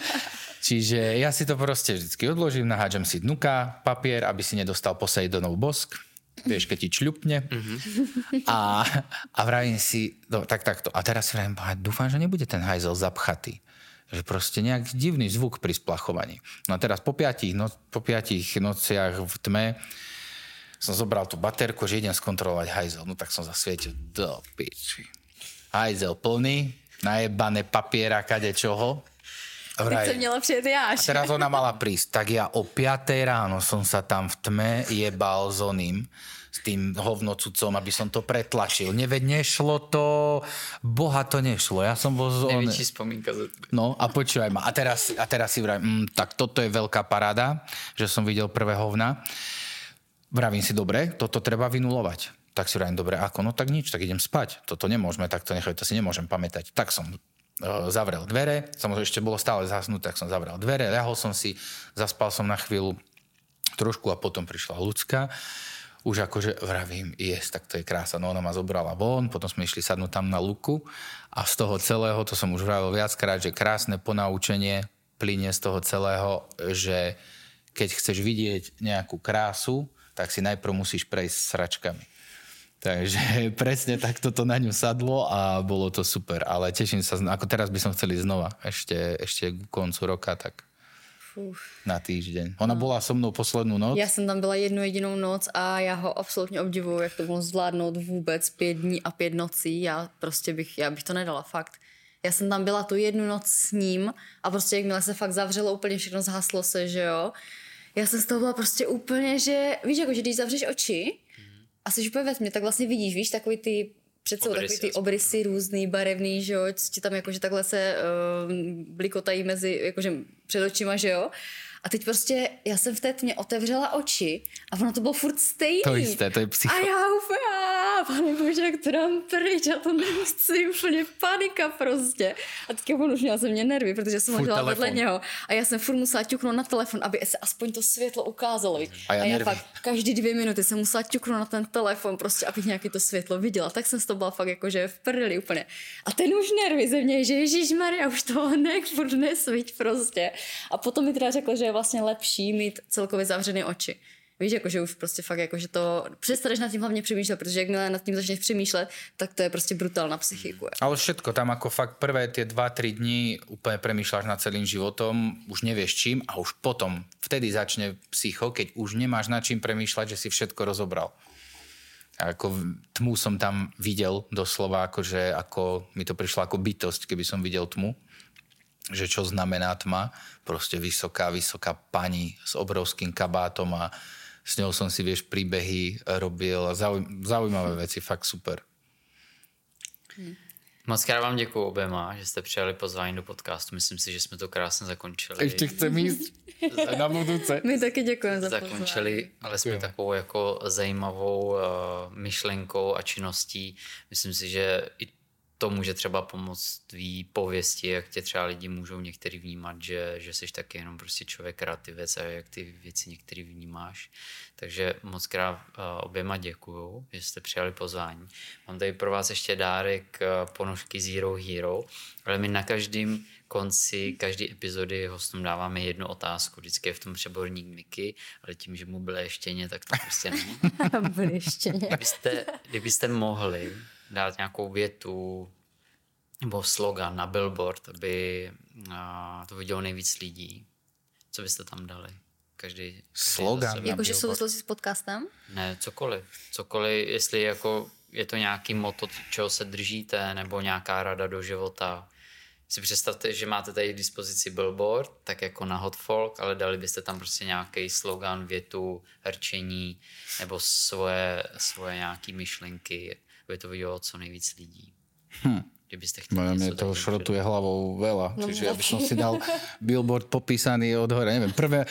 Čiže ja si to proste vždycky odložím, nahádžem si dnuka, papier, aby si nedostal Poseidonov bosk. Vieš, keď ti čľupne. A vravím si, takto. A teraz si vravím, dúfam, že nebude ten hajzel zapchatý. Že proste nejak divný zvuk pri splachovaní. No a teraz po 5 nociach v tme som zobral tú baterku, že idem skontrolovať hajzel. No tak som zasvietil, do piči. Hajzel plný, najebané papiera, kadečoho. Teď som měla přijet jáš. A teraz ona mala prísť. Tak ja o 5 ráno som sa tam v tme jebal s oným, s tým hovnocucom, aby som to pretlačil. Nešlo to, boha to nešlo. Ja som bol z Největší spomínka za tebe. No a počúvaj ma. A teraz si vravím, tak toto je veľká paráda, že som videl prvé hovna. Vravím si, dobre, toto treba vynulovať. Tak si vravím, dobre, ako? No tak nič, tak idem spať. Toto nemôžeme takto nechať, to si nemôžem pamätať. Tak som zavrel dvere, samozrejme ešte bolo stále zasnuté, tak som zavrel dvere, ľahol som si, zaspal som na chvíľu trošku a potom prišla ľudská. Už akože vravím, tak to je krása. No ona ma zobrala von, potom sme išli sadnúť tam na luku a z toho celého, to som už vravil viackrát, že krásne ponaučenie plynie z toho celého, že keď chceš vidieť nejakú krásu, tak si najprv musíš prejsť sračkami. Takže presne takto to na ňu sadlo a bolo to super. Ale teším sa, ako teraz by som chcel ísť znova. Ešte k koncu roka, tak na týždeň. Ona bola so mnou poslednú noc. Já jsem tam byla jednu jedinou noc a já ho absolutně obdivuju, jak to bylo zvládnout vůbec 5 dní a 5 nocí. Já bych to nedala, fakt. Já jsem tam byla tu jednu noc s ním a prostě jakmile se fakt zavřelo, úplně všechno zhaslo se, že jo. Já jsem z toho byla prostě úplně, že víš, jako, že když zavřeš oči a jsi úplně ve tmě, tak vlastně vidíš, víš, takový ty před sebou takový ty obrysy různý, barevný, že jo, co tam jakože takhle se blikotají mezi, jakože před očima, že jo. A teď prostě, já jsem v té tmě otevřela oči a ono to bylo furt stejný. To jisté, to je psycho. A já úplně, pane bože, jak to dám pryč, já to nechci, úplně panika prostě. A teďka on už měla ze mě nervy, protože jsem ležela vedle něho. A já jsem furt musela ťuknout na telefon, aby se aspoň to světlo ukázalo. A já fakt každý 2 minuty jsem musela ťuknout na ten telefon, prostě abych nějaký to světlo viděla. Tak jsem z toho byla fakt jakože v prdeli úplně. A ten už nervy ze mě, že ježišmarja, už toho furt nesviť prostě. A potom mi teda řekl, že je vlastně lepší mít celkově zavřené oči. Víš, jakože už prostě fakt, jakože to přestaneš nad tím hlavně přemýšlet, protože jakmile nad tím začneš přemýšlet, tak to je prostě brutál na psychiku. Ale všetko, tam ako fakt prvé tie 2-3 dní úplne premýšľaš nad celým životom, už nevieš čím a už potom, vtedy začne psycho, keď už nemáš nad čím premýšľať, že si všetko rozobral. A ako tmu som tam videl doslova, akože ako mi to prišlo ako bytosť, keby som videl tmu. Že čo znamená tma. Proste vysoká pani s obrovským kabátom a s ňou som si, vieš, príbehy robil a zaujímavé veci, fakt super. Moc krát vám děkuju oběma, že jste přijali pozvání do podcastu. Myslím si, že jsme to krásně zakončili. Ještě chcem jít na budouce. My taky děkujeme za pozvání. Zakončili, ale jsme takovou jako zajímavou myšlenkou a činností. Myslím si, že i to může třeba pomoct tvý pověsti, jak tě třeba lidi můžou některý vnímat, že jsi taky jenom prostě člověk kreativec a jak ty věci některý vnímáš. Takže moc krát oběma děkuju, že jste přijali pozvání. Mám tady pro vás ještě dárek ponožky Zero Hero, ale my na každém konci každé epizody hostům dáváme jednu otázku. Vždycky je v tom přeborník Miky, ale tím, že mu bylo ještěně, tak to prostě není. Byly ještěně. Kdybyste mohli dát nějakou větu nebo slogan na billboard, aby to vidělo nejvíc lidí. Co byste tam dali? Každý slogan? Jakože souvislosti s podcastem? Ne, cokoliv. Cokoliv, jestli jako je to nějaký motto, čeho se držíte, nebo nějaká rada do života. Si představte, že máte tady k dispozici billboard, tak jako na Hot Folk, ale dali byste tam prostě nějaký slogan, větu, rčení, nebo svoje nějaký myšlenky, aby to vidělo co nejvíc lidí. Kdybyste chtěli něco. Mne to šrotuje hlavou veľa, čiže ja by som si dal billboard popísaný od hora, neviem, prvé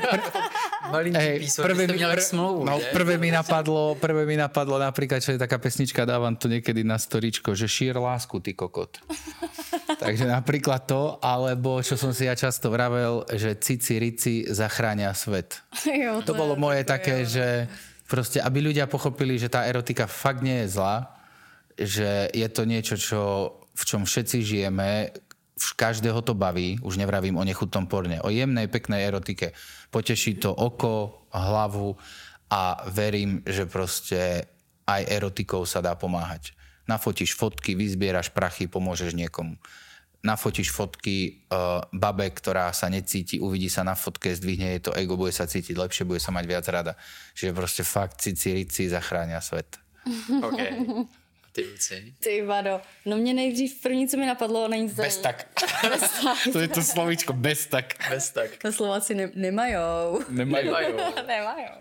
mi napadlo napríklad, čo je taká pesnička, dávam to niekedy na storičko, že šír lásku, ty kokot. Takže napríklad to, alebo čo som si ja často vravel, že cici rici zachránia svet. Jo, to bolo moje také, že proste, aby ľudia pochopili, že tá erotika fakt nie je zlá, že je to niečo, v čom všetci žijeme, každého to baví, už nevravím o nechutnom porne, o jemnej, peknej erotike. Poteší to oko, hlavu a verím, že proste aj erotikou sa dá pomáhať. Nafotíš fotky, vyzbieraš prachy, pomôžeš niekomu. Nafotíš fotky babe, ktorá sa necíti, uvidí sa na fotke, zdvihne jej to ego, bude sa cítiť lepšie, bude sa mať viac rada. Čiže proste fakt cici rici zachránia svet. Okay. Ty Luci? Ty vado. No mě nejdřív první, co mi napadlo, není to... Bez tak. To je to slovíčko, bez tak. Bez tak. To Slováci nemajou. Nemajou.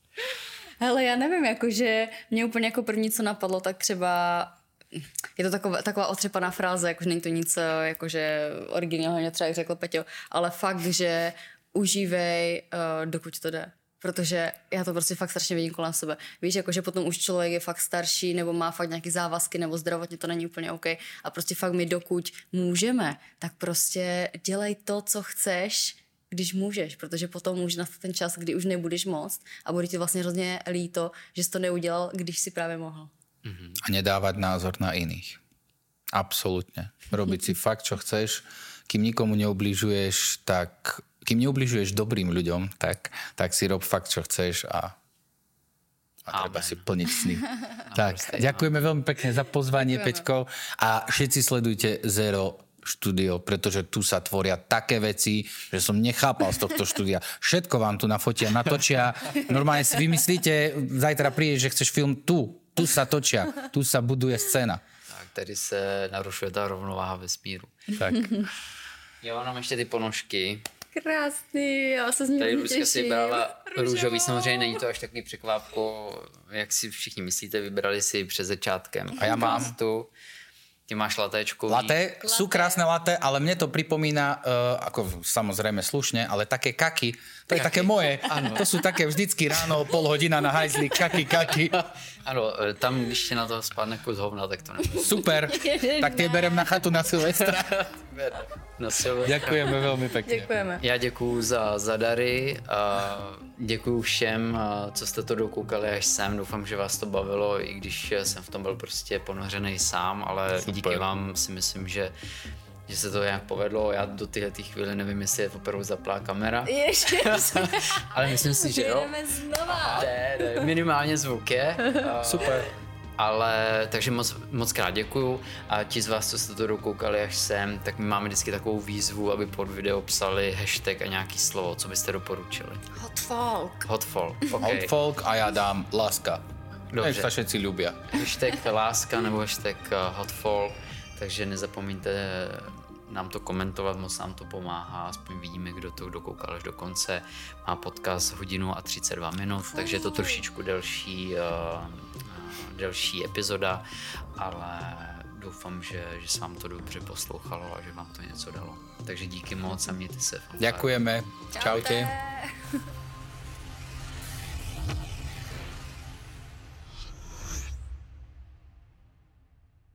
Hele, já nevím, jakože mě úplně jako první, co napadlo, tak třeba je to taková otřepaná fráze, jakože není to nic jakože originálně třeba jak řekl Peťo, ale fakt, že užívej, dokud to jde. Protože já to prostě fakt strašně vidím kolem sebe. Víš, jakože potom už člověk je fakt starší nebo má fakt nějaké závazky nebo zdravotně to není úplně OK a prostě fakt my dokud můžeme, tak prostě dělej to, co chceš, když můžeš, protože potom může nastat ten čas, kdy už nebudeš moct a bude ti vlastně hrozně líto, že jsi to neudělal, když si právě mohl. A nedávať názor na iných. Absolútne. Robiť si fakt, čo chceš. Kým nikomu neubližuješ, kým neubližuješ dobrým ľuďom, tak si rob fakt, čo chceš a treba si plniť sny. Tak, ďakujeme veľmi pekne za pozvanie, Peťko. A všetci sledujte Zero štúdio, pretože tu sa tvoria také veci, že som nechápal z tohto štúdia. Všetko vám tu nafotia, natočia. Normálne si vymyslíte, zajtra prídeš, že chceš film tu sa točia, tu sa buduje scéna. Tak, tady se narušuje ta rovnováha vesmíru. Tak. Jo, mám ještě ty ponožky. Krásný, já se z ní tady těším. Lučka si vybrala růžový, samozřejmě není to až takový překvápko, jak si všichni myslíte, vybrali si před začátkem. A já mám tu. Ty máš latéčkový. Laté, sú krásne laté, ale mne to pripomína, ako samozrejme slušne, ale také kaky, to je také moje. Ano. To sú také vždycky ráno, pol hodina na hajzli, kaky. Ano, tam, když ti na to spadne kus hovna, tak to nebude. Super, tak tie berem na chatu na Silvestra. Ďakujeme veľmi pekne. Děkujeme. Já děkuju za dary, děkuju všem, co jste to dokoukali až sem, doufám, že vás to bavilo, i když jsem v tom byl prostě ponořený sám, ale super. Díky vám si myslím, že se to nějak povedlo. Já do této chvíli nevím, jestli je opravdu zaplá kamera. Ale myslím si, že jo. Jdeme znova. Minimálně zvuk je. Super. Ale takže moc krát děkuju a ti z vás, co jste to dokoukali až sem, tak my máme vždycky takovou výzvu, aby pod video psali hashtag a nějaký slovo, co byste doporučili. Hot folk. Hot folk, okay. Hot folk a já dám láska. Dobře. Sa všetci ľubia. Hashtag láska nebo hashtag hotfolk, takže nezapomeňte nám to komentovat, moc nám to pomáhá, aspoň vidíme, kdo to dokoukal až do konce. Má podcast 1 hodinu a 32 minut, takže je to trošičku delší epizoda, ale doufám, že se vám to dobře poslouchalo a že vám to něco dalo. Takže díky moc a mějte se. Ďakujeme. Čaute.